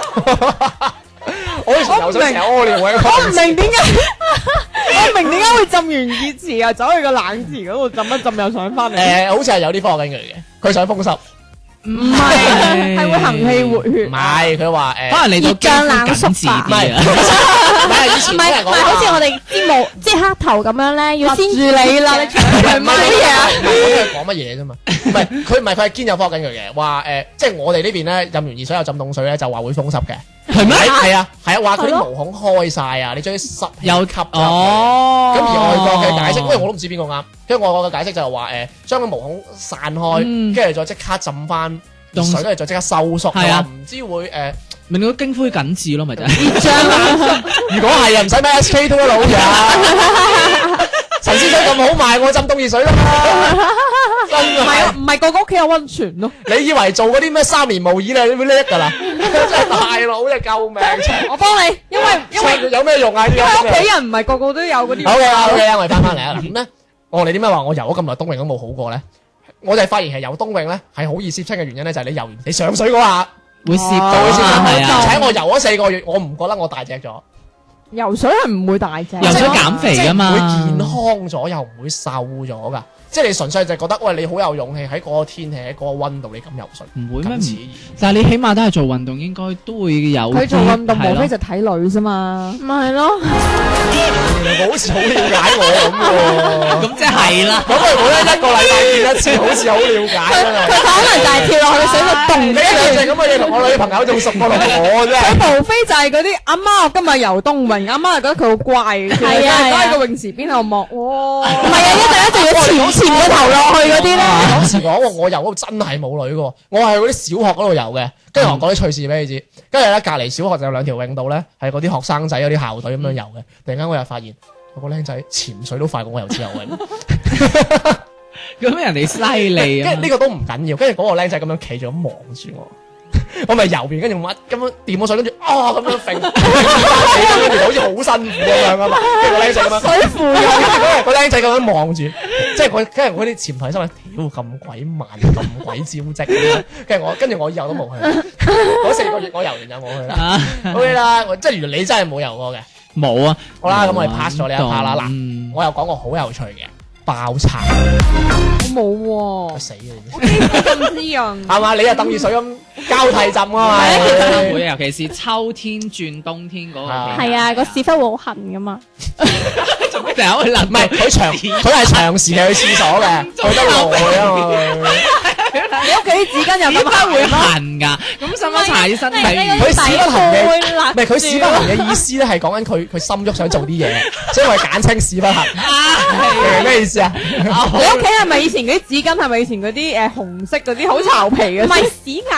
我以前游水成日屙尿嘅。 我唔明點解，我唔明點解會浸完熱池啊，走去個冷池嗰度浸一浸又上翻嚟。 誒，好似係有啲科學根據嘅，佢想風濕。 唔係，係會行氣活血。 唔係，佢話誒。 可能你到熱脹冷縮緊緻唔係， 啲啊！ 唔係以唔係唔係， 前啲人講好似我哋啲毛即係黑頭咁樣咧，要先住你啦，你搶佢乜嘢啊？ 唔係佢講乜嘢啫嘛？唔係佢唔係佢係堅有科學根據嘅，話誒，即係我哋呢邊咧浸完熱水又浸凍水咧，就話會風濕嘅。 係咩？ 係啊係啊，話佢啲係咯毛孔開晒啊，你將啲濕氣有吸咗入去。 哦， 咁而外國嘅解釋，因為我都唔知邊個啱，跟住外國嘅解釋就係話誒，將個毛孔散開， 嗯跟住再即刻浸翻熱水，跟住再即刻收縮， 係啊話唔知會誒。 咪你個經灰緊緻咯，咪就係。 如果係啊，唔使咩 S K two 啦，老友。陳先生咁好賣，我浸凍熱水啦。真唔係啊， 係， 唔係個個屋企有温泉咯。 你以為做嗰啲咩三年模擬你會叻㗎啦？真係大佬，真係救命！ 我幫你，因為因為有咩用啊？呢因為屋啲企人唔係個個都有嗰啲。 好嘅，好嘅，我哋翻返嚟啊！咁咧，我哋點解話我游咗咁耐冬泳都冇好過咧？我哋發現係游冬泳咧係好易攝親嘅原因咧，就係你游完你上水嗰下會攝到就會攝啊， 親。 係啊， 而且我游咗四個月，我唔覺得我大隻咗。 游水係唔會大隻， 游水減肥㗎嘛即係唔會健康咗，又唔會瘦咗噶。即係你純粹就係覺得，喂，你好有勇氣喺嗰個天氣喺嗰個温度，你咁游水， 唔會咩？唔咁自然。 但係你起碼都係做運動，應該都會有啲。 佢做運動係咯無非就睇女啫嘛。 咪係咯， 我好似好了解我咁喎。 咁即係啦。 咁我冇得一個禮拜見一次，好似好了解佢啊！ 可能就係跳落去水度你凍一樣就係咁嘅嘢，同我女朋友仲熟過同我啫。 佢無非就係嗰啲阿媽，我今日游冬泳，阿媽就覺得佢好乖， 係啊係啊喺個泳池邊度望，哇！ 唔係啊，一陣一定要潛潛個頭落去嗰啲咧。 當時講我游嗰度真係冇女嘅喎，我係嗰啲小學嗰度游嘅，跟住我講啲趣事俾你知。跟住咧隔離小學就有兩條泳道咧，係嗰啲學生仔嗰啲校隊咁樣游嘅。突然間我又發現有個僆仔潛水都快過我游自由泳， 咁人哋犀利啊跟住呢個都唔緊要。跟住嗰個僆仔咁樣企住咁望住我。我咪游完，跟住乜咁樣掂咗水，跟住啊咁樣揈，跟住好似好辛苦咁樣啊嘛。跟住個僆仔咁樣， 水扶跟住個僆仔咁樣望住，即係佢跟住我啲潛台心諗，屌咁鬼慢，咁鬼招積咁樣。跟住我跟住我以後都冇去，嗰四個月我游完就冇去啦。 啊！ OK 啦，我即係原來你真係冇游過嘅。 冇啊。 好啦，咁我哋 pass 咗呢一 part 啦。嗱， 嗯我又講個好有趣嘅爆拆， 我冇喎， 死嘅你知我基本咁滋潤。 係嘛？你又等熱水咁交替浸啊嘛。 會，尤其是秋天轉冬天嗰個期係啊，個屎忽會好痕噶嘛。 做咩成日去諗？ 唔係佢長，佢係長時間去廁所嘅，去得耐啊嘛。 你屋企啲紙巾又點咁解會痕痕㗎？咁使乜搽啲身體乳？ 佢屎忽痕嘅， 會辣唔係佢屎忽痕嘅意思咧，係講緊佢佢心喐想做啲嘢，所以我係簡稱屎忽痕。明唔明咩意思啊？ 你屋企係咪以前嗰啲紙巾係咪以前嗰啲誒紅色嗰啲好巢皮嘅？ 唔係屎眼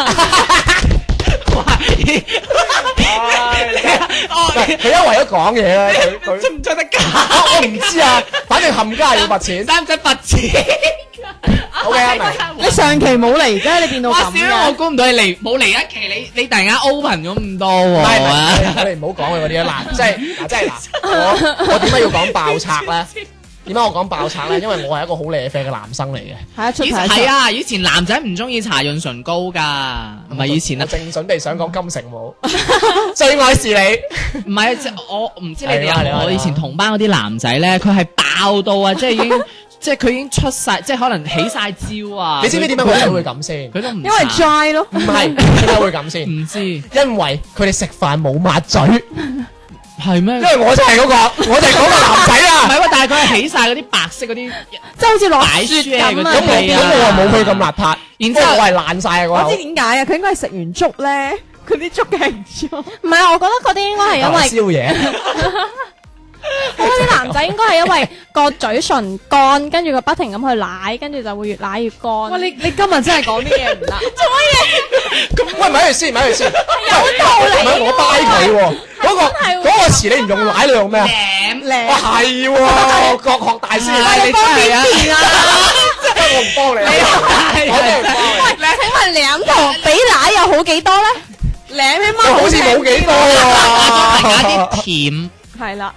佢因為咗講嘢咧，佢佢出唔出得㗎？ 我唔知啊，反正冚家要罰錢。 使唔使罰錢？ O K 啊，明。 你上期冇嚟啫，你變到哇！ 咁少我嘅。 估唔到你嚟冇嚟一期，你你突然間 open 咗咁多唔係唔喎。 係，我哋唔好講佢嗰啲啊！嗱，即係嗱，即係嗱，我我點解要講爆拆咧？點解我講爆拆咧？因為我係一個好舐啡嘅男生嚟嘅。 係啊，出以題前係啊，以前男仔唔中意搽潤唇膏㗎，唔係以前啊， 我正準備想講金城武，最愛是你。 唔係即係我唔知你哋有冇？ 係啊係啊係啊我以前同班嗰啲男仔咧，佢係爆到啊，即係已經即係佢已經出晒，即係可能起晒招啊！ 你知唔知點解佢哋會咁先？ 佢都唔因為 dry 咯。 唔係點解會咁先？ 唔知因為佢哋食飯冇抹嘴， 係咩？ 因為我就係嗰個，我就係嗰個男仔啊！ 唔係喎，但係佢係起晒嗰啲白色嗰啲， 即係好似落雪咁啊！ 咁我咁我話冇佢咁邋遢，然之後我係爛晒個口我知。點解啊？佢應該係食完粥咧，佢啲粥嘅形狀。 唔係，我覺得嗰啲應該係因為宵夜。 我覺得啲男仔應該係因為個嘴唇乾，跟住佢不停咁去舐，跟住就會越舐越乾。 哇！你你今日真係講啲嘢唔得。 咁喂，咪住先，咪住先。 有道理唔係我掰佢喎，嗰個係喎嗰個詞你唔用舐，你用咩啊？ 靚哇，係喎，國學大師嚟， 你真係啊！ 真係我唔幫你，我真係唔幫你。 喂，請問舐同比奶又好幾多咧？ 舐起我碼好似冇幾多加喎。 啲甜。 係啦。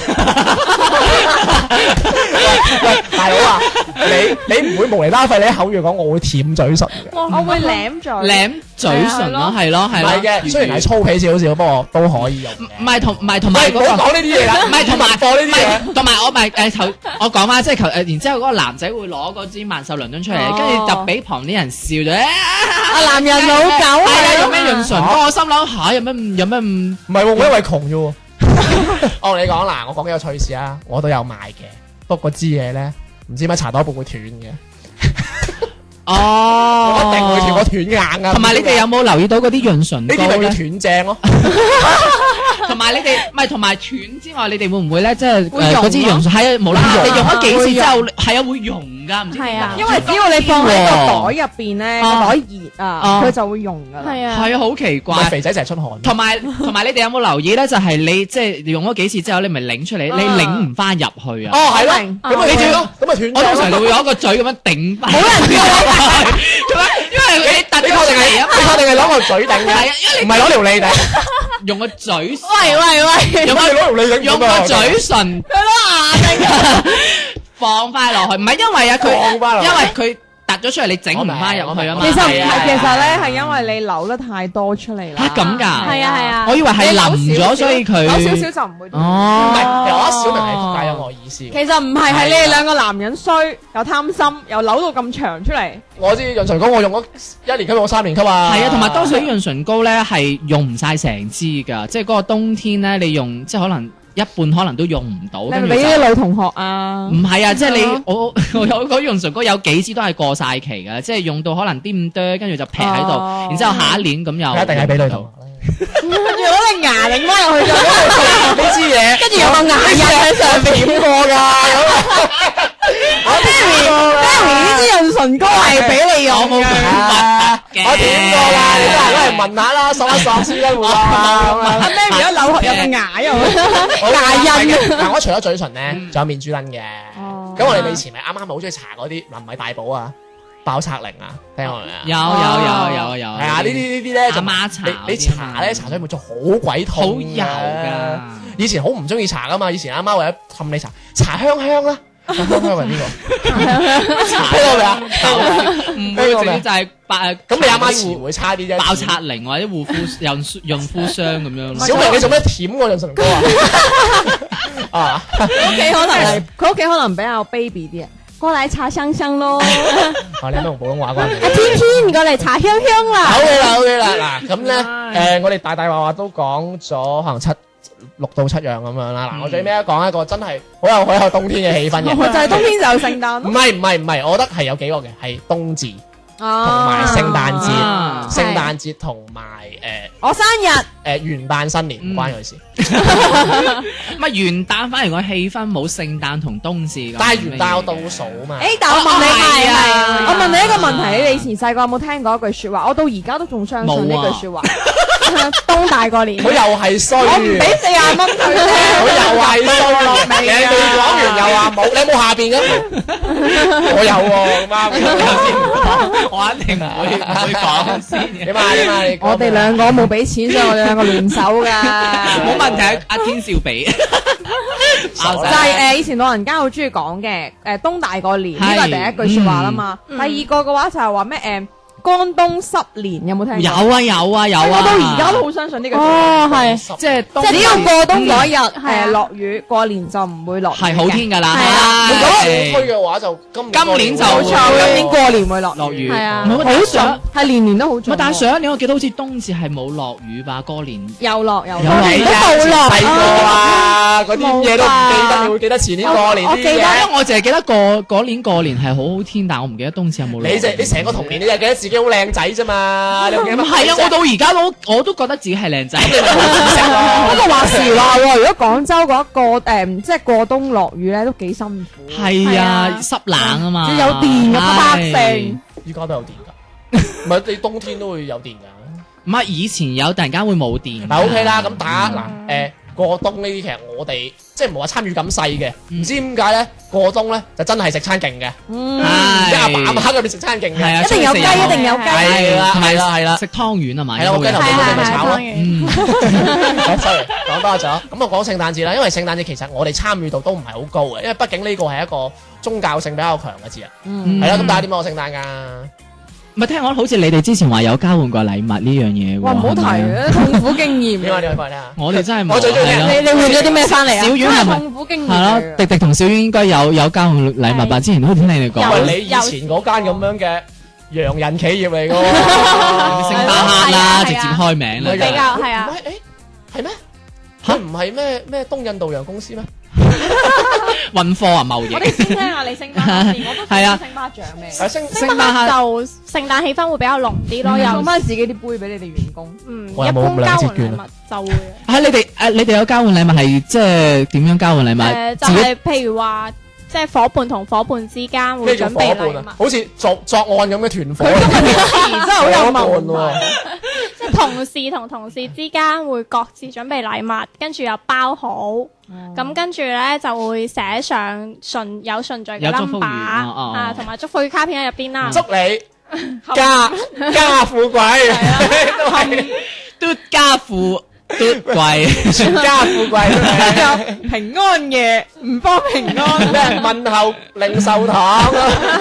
喂，大佬啊，你你唔會無厘啦廢，你喺口語講我會舔嘴唇嘅。 我會舐咗。 舐嘴唇咯，係咯， 唔係咯。 係嘅，雖然係粗鄙少少，不過都可以用嘅。 唔係同唔係同埋喂，唔好嗰個。 講呢啲嘢啦， 唔係同埋播呢啲唔嘢。 係同埋我咪誒頭我講翻，即係求誒，然之後嗰個男仔會攞嗰支萬壽倫敦出嚟，跟住就俾旁啲人笑咗。 啊，男人老狗係啊，有咩啊！ 潤唇膏？我心諗下有咩唔有咩唔唔係喎，我因為窮啫喎。我同你講嗱，我講幾個趣事啊，我都有賣嘅，不過嗰支嘢咧，唔知點解搽多一半會斷嘅， 哦， 我一定會斷，我斷硬啊。 同埋你哋有冇留意到嗰啲潤唇膏咧呢啲咪叫？斷正咯？ 同埋你哋唔係同埋斷之外，你哋會唔會咧即係會溶誒嗰支潤唇係啊無啦啦會溶你用咗幾次之後會係啊會溶㗎，唔知點解係啊因為只要你放喺個袋入邊咧，個啊袋熱啊， 啊佢就會溶噶啦。 係啊， 係啊好奇唔係怪。 肥仔成日出汗。 同埋同埋，你哋有冇留意咧？就係你即係用咗幾次之後，你咪擰出嚟，你擰唔翻入去啊！ 哦，係咯， 明咁咪你仲要斷咯，咁咪斷我通常咗咯。 就會攞個嘴咁樣頂翻。冇人叫我咁樣，因為你突你確定係咗嚟啊你確定係攞個嘴頂嘅？ 係啊，因為唔係攞條脷頂。 你用個嘴， 喂喂喂， 用個你攞條脷頂用個嘴唇，佢攞牙頂放翻落去，唔係因為啊佢， 放返落去因為佢突咗出嚟，你整唔翻入去啊嘛。 其實唔係啊係，其實咧係因為你流得太多出嚟啦。 嚇咁㗎係啊係啊， 我以為係淋咗，所以佢有少少就唔會斷。 哦， 唔係，其實我覺得小明係覆解咗我意思嘅。 其實唔係，係你哋兩個男人衰，又貪心，又扭到咁長出嚟。 我知潤唇膏我用咗一年級，用咗三年級啊。 係啊，同埋多數啲潤唇膏咧係用唔晒成支㗎，即係嗰個冬天咧，你用即係可能一半可能都用唔到。 你係咪俾啲女同學啊？ 唔係啊，即係你係咯我我有嗰潤唇膏有幾支都係過晒期㗎，即係用到可能啲咁多，跟住就劈喺度， 哦然之後下一年咁又佢一定係俾女同學。 跟住攞隻牙擰翻入去咗。 呢支嘢， 跟住有個牙印喺上邊。 點過㗎？我點過㗎？ 呢支潤唇膏係俾你用我冇嘅。 啊我點過啦？你都係攞嚟聞下啦，索一索先啦，會啊。 阿 Mary 一扭有個牙又好牙印。 嗱，我除咗嘴唇咧，仲有面珠墩嘅。 哦咁我哋以前咪啱啱咪好中意搽嗰啲，嗱唔係大寶啊，爆拆靈啊，聽過未啊？ 有有有有有， 係啊，呢啲呢啲咧就阿媽搽你你嗰啲啊搽咧搽咗會做好鬼痛， 好油㗎。 以前好唔中意搽噶嘛，以前阿媽為咗氹你搽，搽香香啦，香香係呢個？聽過未啊？ 唔會直接就係爆咁你阿媽詞會差啲啫。 爆擦靈或者護膚潤潤膚霜咁樣咯。 小明你做咩舔我潤唇膏啊？啊， 屋企可能係佢屋企可能比較 baby 啲啊。 過嚟搽香香咯， 啊你有冇用普通話關係？ 阿天天過嚟搽香香啦， 好嘅啦，好嘅啦，嗱咁咧，誒我哋大大話話都講咗可能七六到七樣咁樣啦。嗱，我最尾講一個真係好有好有冬天嘅氣氛嘅， 就係冬天就有聖誕唔咯。 係唔係唔係，我覺得係有幾個嘅，係冬至同同埋聖誕節， 啊聖誕節同埋我生日， 誒誒元旦新年唔關佢事， 唔係元旦反而個氣氛冇聖誕同冬至咁。 但係元旦有倒數啊嘛。 誒，但我問你哦係啊係我問你一個問題，你以前細個有冇聽過一句説話？我到而家都仲相信呢冇啊句説話。 冬大過年佢，又係衰， 我唔俾四廿蚊佢啫。 佢又係衰，你未講完又話冇，你有冇下邊嘅？我有喎，咁啱。 我一定唔會唔會講先嘅。 點啊點啊？你講我哋兩個冇俾錢，所以我哋兩個聯手㗎。 冇問題，阿天少俾。 傻就啦係誒以前老人家好中意講嘅誒冬大過年呢個係第一句説話啦嘛。第二個嘅話就係話咩誒江東濕年有冇聽過？ 有啊有啊有啊！ 我到而家都好相信呢個。 哦，係， 即係即係只要過冬嗰一日係啊誒落雨，過年就唔會落雨嘅。 係好天㗎啦。 係啊如果係推嘅話就今今年就冇錯，今年過年會落落雨。 係啊我但係上係年年都好準。 但係上一年我記得好似冬至係冇落雨吧？過年又落又有落。 落幾啊冇落細個啊，嗰啲嘢都唔記得，你會記得前年過年啲我記得，因嘢。 為我淨係記得過嗰年過年係好好天，但我唔記得冬至有冇落雨。 你就你成個童年，你就記得自己好靚仔啫嘛？你有幾唔係啊！我到而家都我都覺得自己係靚仔。 你咪冇知識不咯。 過話時話喎，如果廣州嗰個誒即係過冬落雨咧，都幾辛苦。 係啊係啊， 濕冷啊嘛， 要有電嘅百係姓。 依家都有電㗎，唔係你冬天都會有電㗎。 唔係以前有，突然間會冇電。 嗱 OK 啦，咁打嗱誒過冬呢啲，其實我哋即係冇話參與咁細嘅，唔知點解咧過冬咧就真係食餐勁嘅， 嗯， 即係阿爸阿係媽嗰邊食餐勁係啊， 嘅， 一定有雞，一定有雞。 係啦同埋係啦係啦食湯圓啊嘛， 係啦我雞頭應該會有你咪炒咯嗯， 好 sorry 講多咗。咁我講聖誕節啦，因為聖誕節其實我哋參與度都唔係好高嘅，因為畢竟呢個係一個宗教性比較強嘅節日， 嗯， 係啦。咁大家點過聖誕㗎？ 唔係聽講好似你哋之前話有交換過禮物呢樣嘢喎。 哇，唔好提係咪啊，痛苦經驗。 點啊點啊講嚟聽下。 我哋真係冇。 我最中意係咯你你換咗啲咩翻嚟啊？ 小丸係咪痛苦經驗係咯， 嚟嘅。 迪迪同小丸應該有有交換禮物吧？ 係之前好似聽你哋因講。 為你以前嗰間咁樣嘅洋人企業嚟㗎喎。 星巴克啦， 係啊直接開名啦。 唔係㗎比較係啊唔係誒係咩？佢唔係咩咩東印度洋公司咩？ 運貨啊，貿易我。哋先聽下你星巴克先，我都係啊想星巴獎咩？ 係星星巴克就聖誕氣氛會比較濃啲咯， 送又翻自己啲杯俾你哋員工。 嗯， 我有冇一般交換禮兩折券啊物就會啊！你哋誒，你哋有交換禮物係即係點樣交換禮物？ 誒，就自己係譬如話，即係夥伴同夥伴之間會咩叫準備禮伙伴啊？ 物， 好似作作案咁嘅團伙。 真係好有伙伴文喎化。 即係同事同同事之間會各自準備禮物，跟住又包好，咁跟住咧就會寫上順有順序嘅有祝福語 number 哦哦啊，同埋祝福語卡片喺入邊啦。 祝你家家富貴，都係嘟家富嘟貴。 全家富貴。 有平安夜，唔幫平安。 咩問候零售堂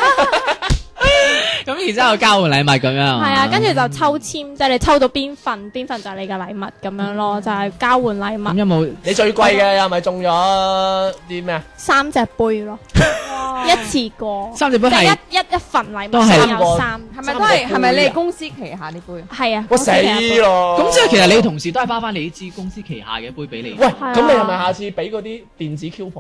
咁然之後交換禮物咁樣。 係啊，跟住就抽籤，即係你抽到邊份，邊份就係你嘅禮物咁樣咯，就係交換禮物， 咁有冇？ 你最貴嘅係咪中咗啲咩啊？ 三隻杯咯，一次過， 三隻杯係即係一一一份禮都係物先有三， 係咪都係？係咪你哋公司旗下呢杯？ 係啊， 我死咯！ 咁即係其實你同事都係包翻你支公司旗下嘅杯俾你。 喂， 啊咁你係咪下次俾嗰啲電子 coupon？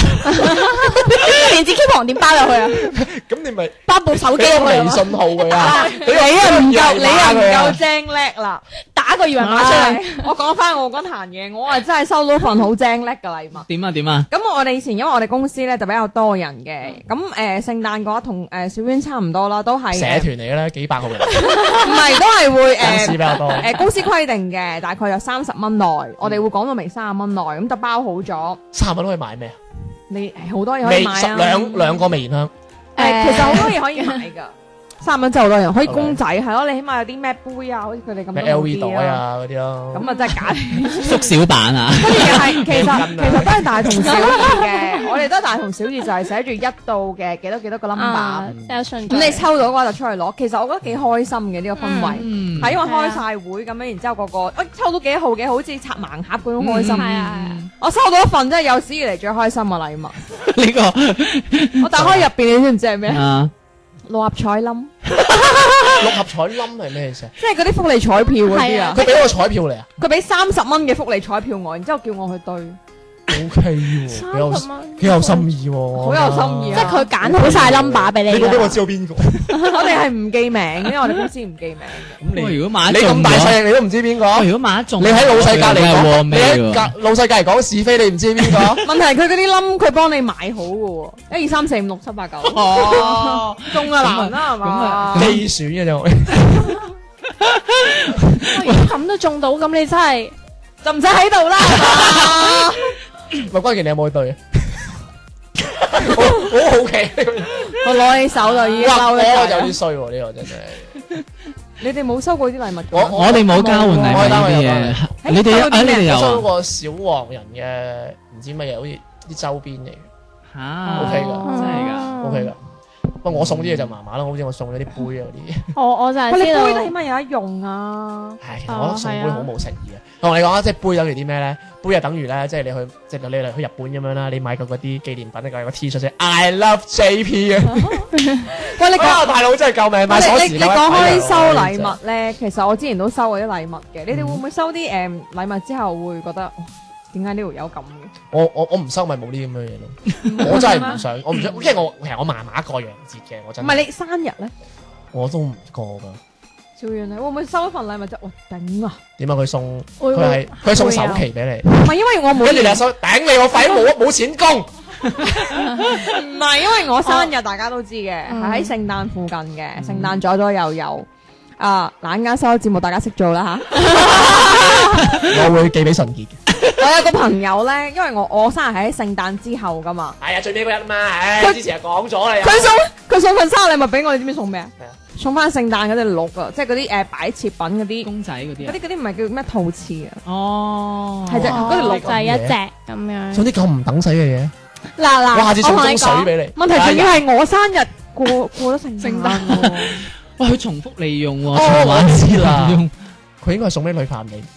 電子 coupon 點包入去啊？ 咁你咪包部手機俾個入去啊嘛， 微信號佢啊！ 你啊唔夠，你啊唔夠啊！ 精叻啦！ 打個二維碼出嚟。 我講翻我嗰壇嘢，我係真係收到份好精叻嘅禮物。 點啊點啊？ 咁我哋以前因為我哋公司咧就比較多人嘅，咁誒聖誕嘅話同誒小娟差唔多啦，都係社團嚟嘅咧，幾百個人， 唔係都係會公司比誒較多。 誒公司規定嘅，大概有三十蚊內，我哋會講到明三十蚊內，咁就包好咗。 三十蚊可以買咩啊？ 你誒好多嘢可微十以買啊！ 兩兩個微香， 誒，其實好多嘢可以買㗎。三蚊真係好多人，可以公仔係咯，你起碼有啲咩杯啊，好似佢哋咁咩都 L 好 V 啲袋啊嗰啲咯。 咁啊真係假。 縮小版啊！ 跟住又係其實啊其實都係大同小異嘅，我哋都係大同小異，就係寫住一到嘅幾多幾多個 number。 啊，有順序。 咁你抽到嘅話就出去攞，其實我覺得幾開心嘅呢個氛圍， 嗯係因為開晒會咁樣，然之後個個喂抽到幾號嘅，好似拆盲盒嗰種開心。 係啊係啊， 我收到一份真係有史以嚟最開心嘅禮物， 呢個我打開入邊，你知唔知係咩？ 啊六合彩冧， 六合彩冧係咩意思啊？ 即係嗰啲福利彩票嗰啲啊！ 佢俾個彩票嚟啊佢俾三十蚊嘅福利彩票我，然之後叫我去對， ？O K 喎，幾有三十蚊幾有心意喎， 好有心意啊！ 即係佢揀好晒 number 俾你㗎。 你冇俾我知道邊個？ 我哋係唔記名，因為我哋公司唔記名嘅。 咁喂如果買你中咗咁大細，你都唔知邊個？ 喂如果買得中， 你喺老細隔離講，你咩喺隔老細隔離講是非，你唔知邊個？ 問題佢嗰啲冧佢幫你買好嘅喎，一二三四五六七八九， 哦， 中啊難啦係咁啊嘛？ 機選嘅啫，我如果咁都中到，咁你真係就唔使喺度啦。 咪關鍵你有冇去對？好好好奇， 我攞起手就已經哇！ 嬲我就有咗啲。衰喎，呢個真係。 你哋冇收過啲禮物㗎？ 我我哋冇交換禮物我單位有呢啲嘢， 誒你哋收到啲啊你哋咩有啊？ 我收過小黃人嘅唔知乜嘢，好似啲周邊嚟嘅嚇 ，OK 㗎哦真係㗎。 ，OK 㗎。 不過我送啲嘢就麻麻啦，好似我送咗啲杯啊嗰啲。 我我就係喂，你知道杯都起碼有得用啊！ 係，其實我覺得送杯好冇誠意嘅。我同你講啊，即係杯等於啲咩咧？杯就等於咧，即係你去即係你嚟去日本咁樣啦，你買過嗰啲紀念品，你有個 T 恤寫 I love J P 嘅。 喂，你啊， 講大佬真係救命！買鎖匙你你講開收禮物咧，其實我之前都收過啲禮物嘅。你哋會唔會收啲誒禮物之後會覺得哇點解呢條友咁嘅？ 我我我唔收咪冇啲咁樣嘢咯。我真係唔想，我唔想，因為我其實我麻麻過洋節嘅，我真係。 唔係你生日咧？ 我都唔過㗎。 小遠你會唔會收一份禮物啫？哇頂啊！ 點解佢送會佢係佢送首期俾你， 唔係因為我每跟住你年又收頂你個肺冇冇錢供。 唔係因為我生日大家都知嘅，係嗯喺聖誕附近嘅，聖誕左左右右。啊，懶間收節目大家識做啦嚇。 我會寄俾純潔嘅。 我有個朋友咧，因為我我生日係喺聖誕之後噶嘛， 係啊，最尾嗰日啊嘛，唉， 佢之前就講咗啦。 佢送佢送份生日禮物俾我，你知唔知送咩啊係啊？ 送翻聖誕嗰隻鹿啊，即係嗰啲誒擺設品嗰啲， 公仔嗰啲啊嗰啲嗰啲唔係叫咩陶瓷啊？ 哦， 係隻嗰條鹿就係一隻咁樣。 送啲咁唔等使嘅嘢， 嗱嗱， 我下次送我同你樽水講， 俾你。 問題仲要係我生日過過咗聖聖誕誕喎。 哇，佢重複利用喎， 哦循環我知啦利用佢應該係送俾女朋友你。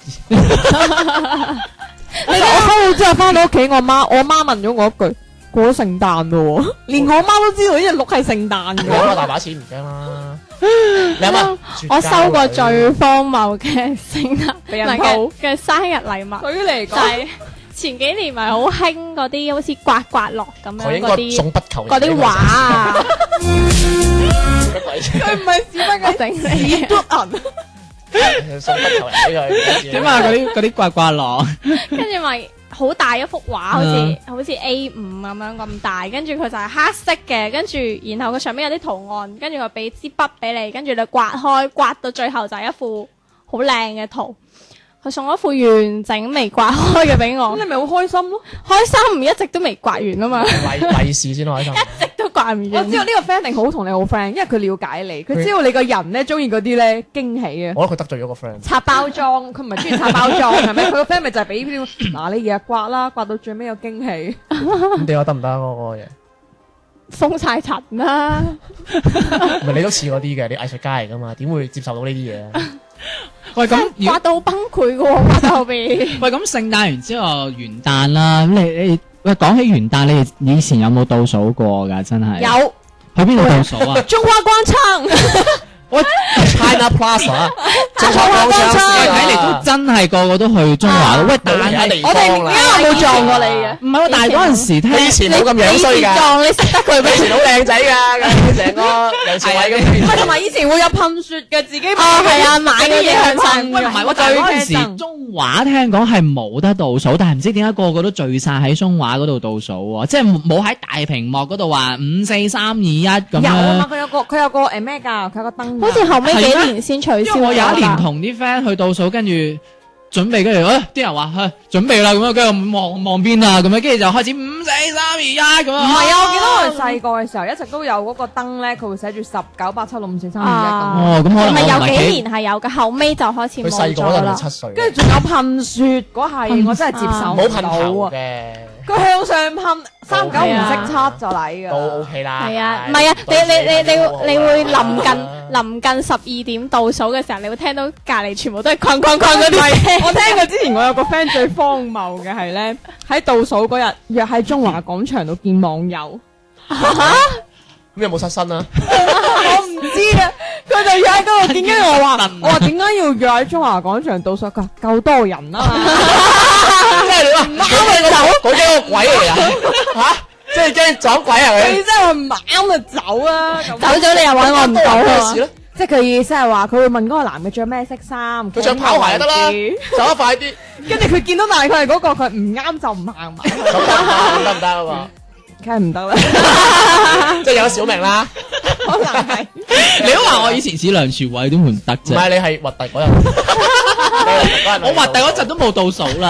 我收到之後翻到屋企，我媽我媽問咗我一句：過咗聖誕咯，連我媽都知道呢隻鹿係聖誕你嘅。 攞大把錢唔驚啦。你諗下， 我收過最荒謬嘅聖誕俾人唔係抱嘅嘅生日禮物， 對於嚟就係前幾年咪好興嗰啲好似刮刮樂咁佢應該樣嗰啲送不求嗰啲畫啊， 乜鬼啫？ 佢唔係屎忽嘅整你屎嘟銀， 送不求人俾佢。 點啊？嗰啲嗰啲刮刮樂， 跟住咪好大一幅畫，好似嗯好似 A 五咁樣咁大，跟住佢就係黑色嘅，跟住然後佢上面有啲圖案，跟住佢俾支筆俾你，跟住你刮開，刮到最後就係一幅好靚嘅圖。佢送咗副完整未刮開嘅俾我咁，你咪好開心咯。 開心唔一直都未刮完啊嘛， 利利是先開心。 一直都刮唔完。 我知道呢個 friend 一定好同你好 friend，因為佢了解你，佢知道你個人咧中意嗰啲咧驚喜嘅。 我覺得佢得罪咗個 friend。 拆包裝，佢唔係中意拆包裝，係咪？佢個 friend 咪就係俾呢啲嗱，你日日刮啦，刮到最尾有驚喜。 咁點解得唔得啊？嗰個嘢， 封晒塵啦， 唔係你都似嗰啲嘅，你藝術家嚟噶嘛？點會接受到呢啲嘢啊？ 喂咁如刮到崩潰嘅喎，刮到後邊。 喂咁聖誕完之後元旦啦，咁你你喂講起元旦，你哋以前有冇倒數過㗎？真係有去邊度倒數啊？ 中華廣場， 喂 China Plaza，中華廣場喂睇嚟都真係個個都去中華咯。喂，但係我哋點解有冇撞過你嘅？ 唔係喎，但係嗰陣時聽你以前冇咁樣衰㗎， 撞你識得佢你以前好靚仔㗎，成個梁朝偉咁。 唔係同埋以前會有噴雪嘅，自己哦係啊，買嗰啲向噴喂，唔係喎，但係嗰陣時中華聽講係冇得倒數，但係唔知點解個個都聚晒喺中華嗰度倒數喎，即係冇喺大屏幕嗰度話五四三二一咁有啊嘛， 樣。 佢有個佢有個誒咩㗎？佢有個燈㗎。 好似後尾幾年先取消因為我有一年咗同啲 friend 去倒數，跟住準備，跟住誒啲人話誒準備啦，咁樣跟住望望邊啊，咁樣跟住就開始五四三二一咁樣。 唔係啊！我記得我哋細個嘅時候一直都有嗰個燈咧，佢會寫住十九八七六五四三二一咁。 哦，咁可能係咪有幾我唔係幾年係有嘅，後尾就開始佢冇細個嗰陣係咗啦。 七歲， 跟住仲有噴雪嗰係，我真係接受冇噴唔到啊！ 頭嘅， 佢向上噴，三九唔識七就嚟都㗎。 OK 啦。 係啊，唔係啊，你你你你你會臨近臨近十二點倒數嘅時候，你會聽到隔離全部都係哐哐哐嗰啲聲。 我聽過之前我有個 friend 最荒謬嘅係咧，喺倒數嗰日約喺中華廣場度見網友。 咁有冇失身啊？ 我唔知啊，佢就約喺嗰度見，跟住我話我話點解要約喺中華廣場倒數？佢話夠多人啊嘛。 即係你話嗰個走，嗰幾個鬼嚟啊？嚇！即係驚撞鬼啊佢？ 你真係唔啱就走啊！咁走咗你又揾我唔到啊咩事！咧？ 即係佢意思係話佢會問嗰個男嘅着咩色衫， 佢着跑鞋就得啦，走得快啲。 跟住佢見到大概係嗰個，佢唔啱就唔行埋， 咁得唔得啊嘛？ 梗係唔得啦。 即係有小明啦， 可能係你都話我以前似梁朝偉，點會唔得唔啫？ 係你係核突嗰日， 我核突嗰陣都冇倒數啦。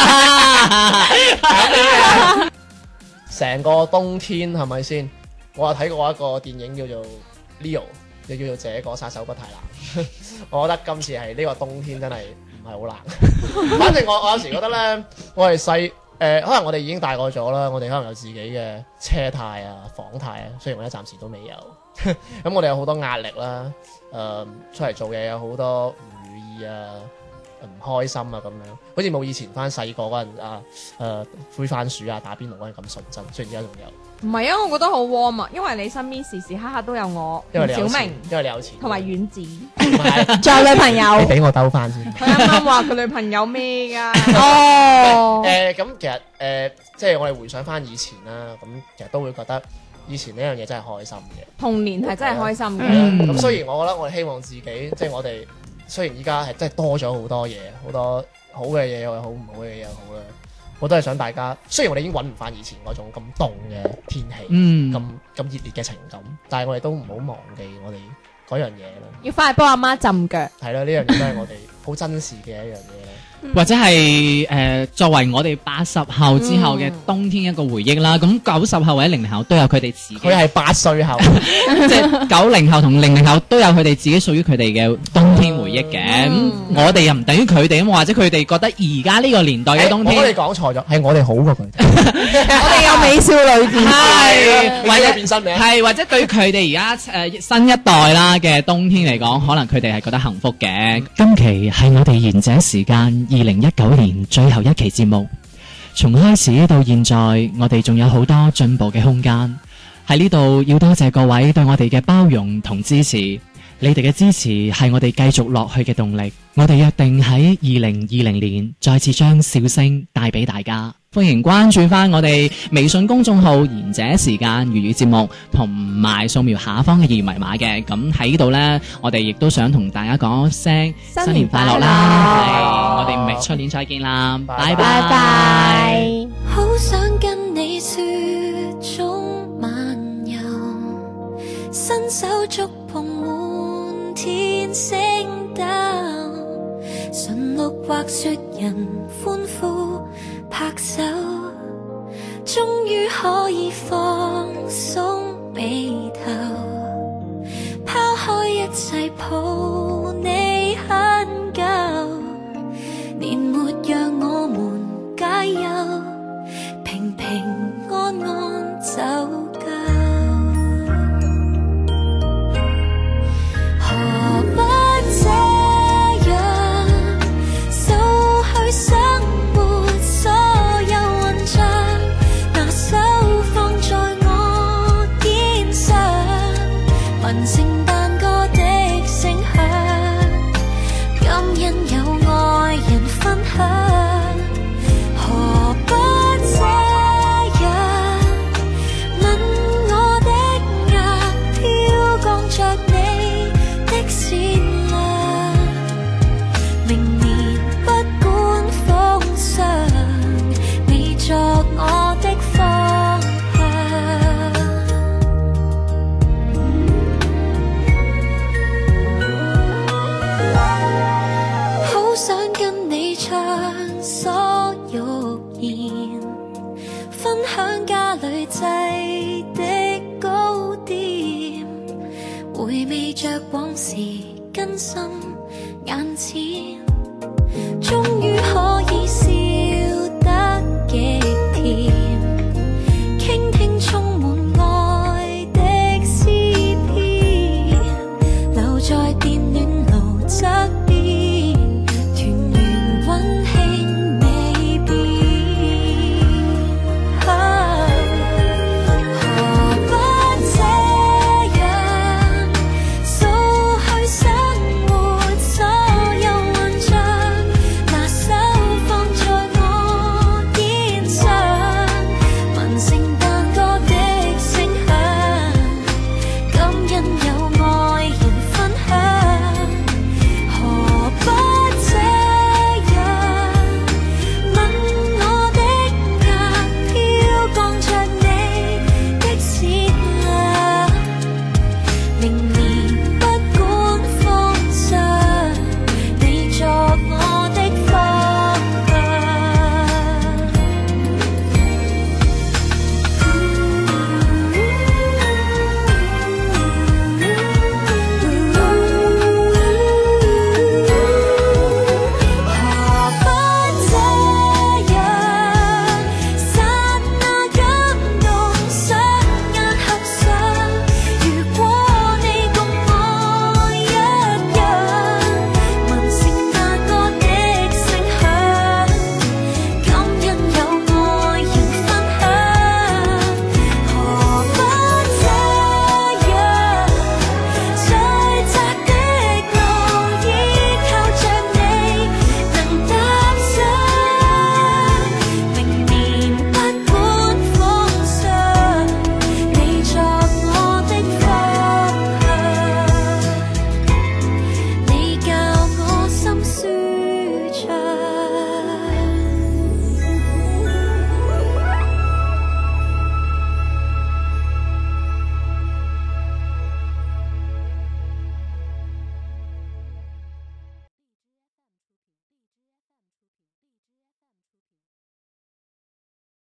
成個冬天係咪先？我有睇過一個電影叫做 Leo，又叫做這個殺手不太冷。我覺得今次係呢個冬天真係唔係好冷。反正我我有時覺得咧，我係細誒，可能我哋已經大個咗啦，我哋可能有自己嘅車貸啊、房貸啊，雖然我而家暫時都未有。咁我哋有好多壓力啦，誒、出嚟做嘢有好多唔如意啊、唔開心啊咁樣，好似冇以前翻細個嗰陣啊，誒、灰番薯啊、打邊爐嗰陣咁純真，雖然而家仲有。 唔係啊，我覺得好 warm 啊，因為你身邊時時刻刻都有我、 因為你有錢小明因為你有錢， 同埋丸子。 唔係仲有女朋友你俾我兜翻先。 佢啱啱話佢女朋友咩㗎？ 哦， 誒咁、其實誒、即係我哋回想翻以前啦，咁其實都會覺得以前呢樣嘢真係開心嘅。 童年係真係開心嘅。 嗯咁雖然我覺得我哋希望自己，即係我哋雖然依家係真係多咗好多嘢，好多好嘅嘢又好，唔好嘅嘢又好啦。我都係想大家，雖然我哋已經揾唔翻以前嗰種咁凍嘅天氣， 嗯咁咁熱烈嘅情感，但係我哋都唔好忘記我哋嗰樣嘢啦。 要翻去幫阿媽浸腳。 係啦，呢樣嘢都係我哋好珍視嘅一樣嘢啦。 或者係誒、呃作為我哋八十後之後嘅冬天一個回憶啦。咁九十後或者零零後都有佢哋自己， 佢係八歲後， 即係九零後同零零後都有佢哋自己屬於佢哋嘅冬天回憶嘅。咁、我哋又唔等於佢哋咁，或者佢哋覺得而家呢個年代嘅冬誒我哋天講錯咗，係我哋好過佢哋。 我哋有美少女戰士。 係或者變身名係或者對佢哋而家誒新一代啦嘅冬天嚟講，可能佢哋係覺得幸福嘅。今期係我哋賢者時間二零一九年最後一期節目，從開始到現在，我哋仲有好多進步嘅空間。喺呢度要多謝各位對我哋嘅包容同支持，你哋嘅支持係我哋繼續落去嘅動力。我哋約定喺二零二零年再次將笑聲帶俾大家。歡迎關注翻我哋微信公眾號賢者時間粵語節目，同埋掃描下方嘅二維碼嘅。咁喺呢度呢，我哋亦都想同大家講聲新年快樂啦！係我哋咪出年再見啦，拜拜拜拜。 好想跟你雪中漫遊，伸手觸碰滿天星斗，馴鹿或雪人歡呼拍手，終於可以放鬆眉頭，拋開一切抱你很久，年沒讓我們解憂，平平安安走夠。何不這樣掃去生活所有混帳，拿手放在我肩上，聞聖誕歌的聲響，感恩有愛人分享。何不這樣吻我的額，飄降着你的善良，明年不管風霜，你作我的方向。好想跟你暢所欲言，分享家裏製的糕點，回味着往事更深眼前，終於可以笑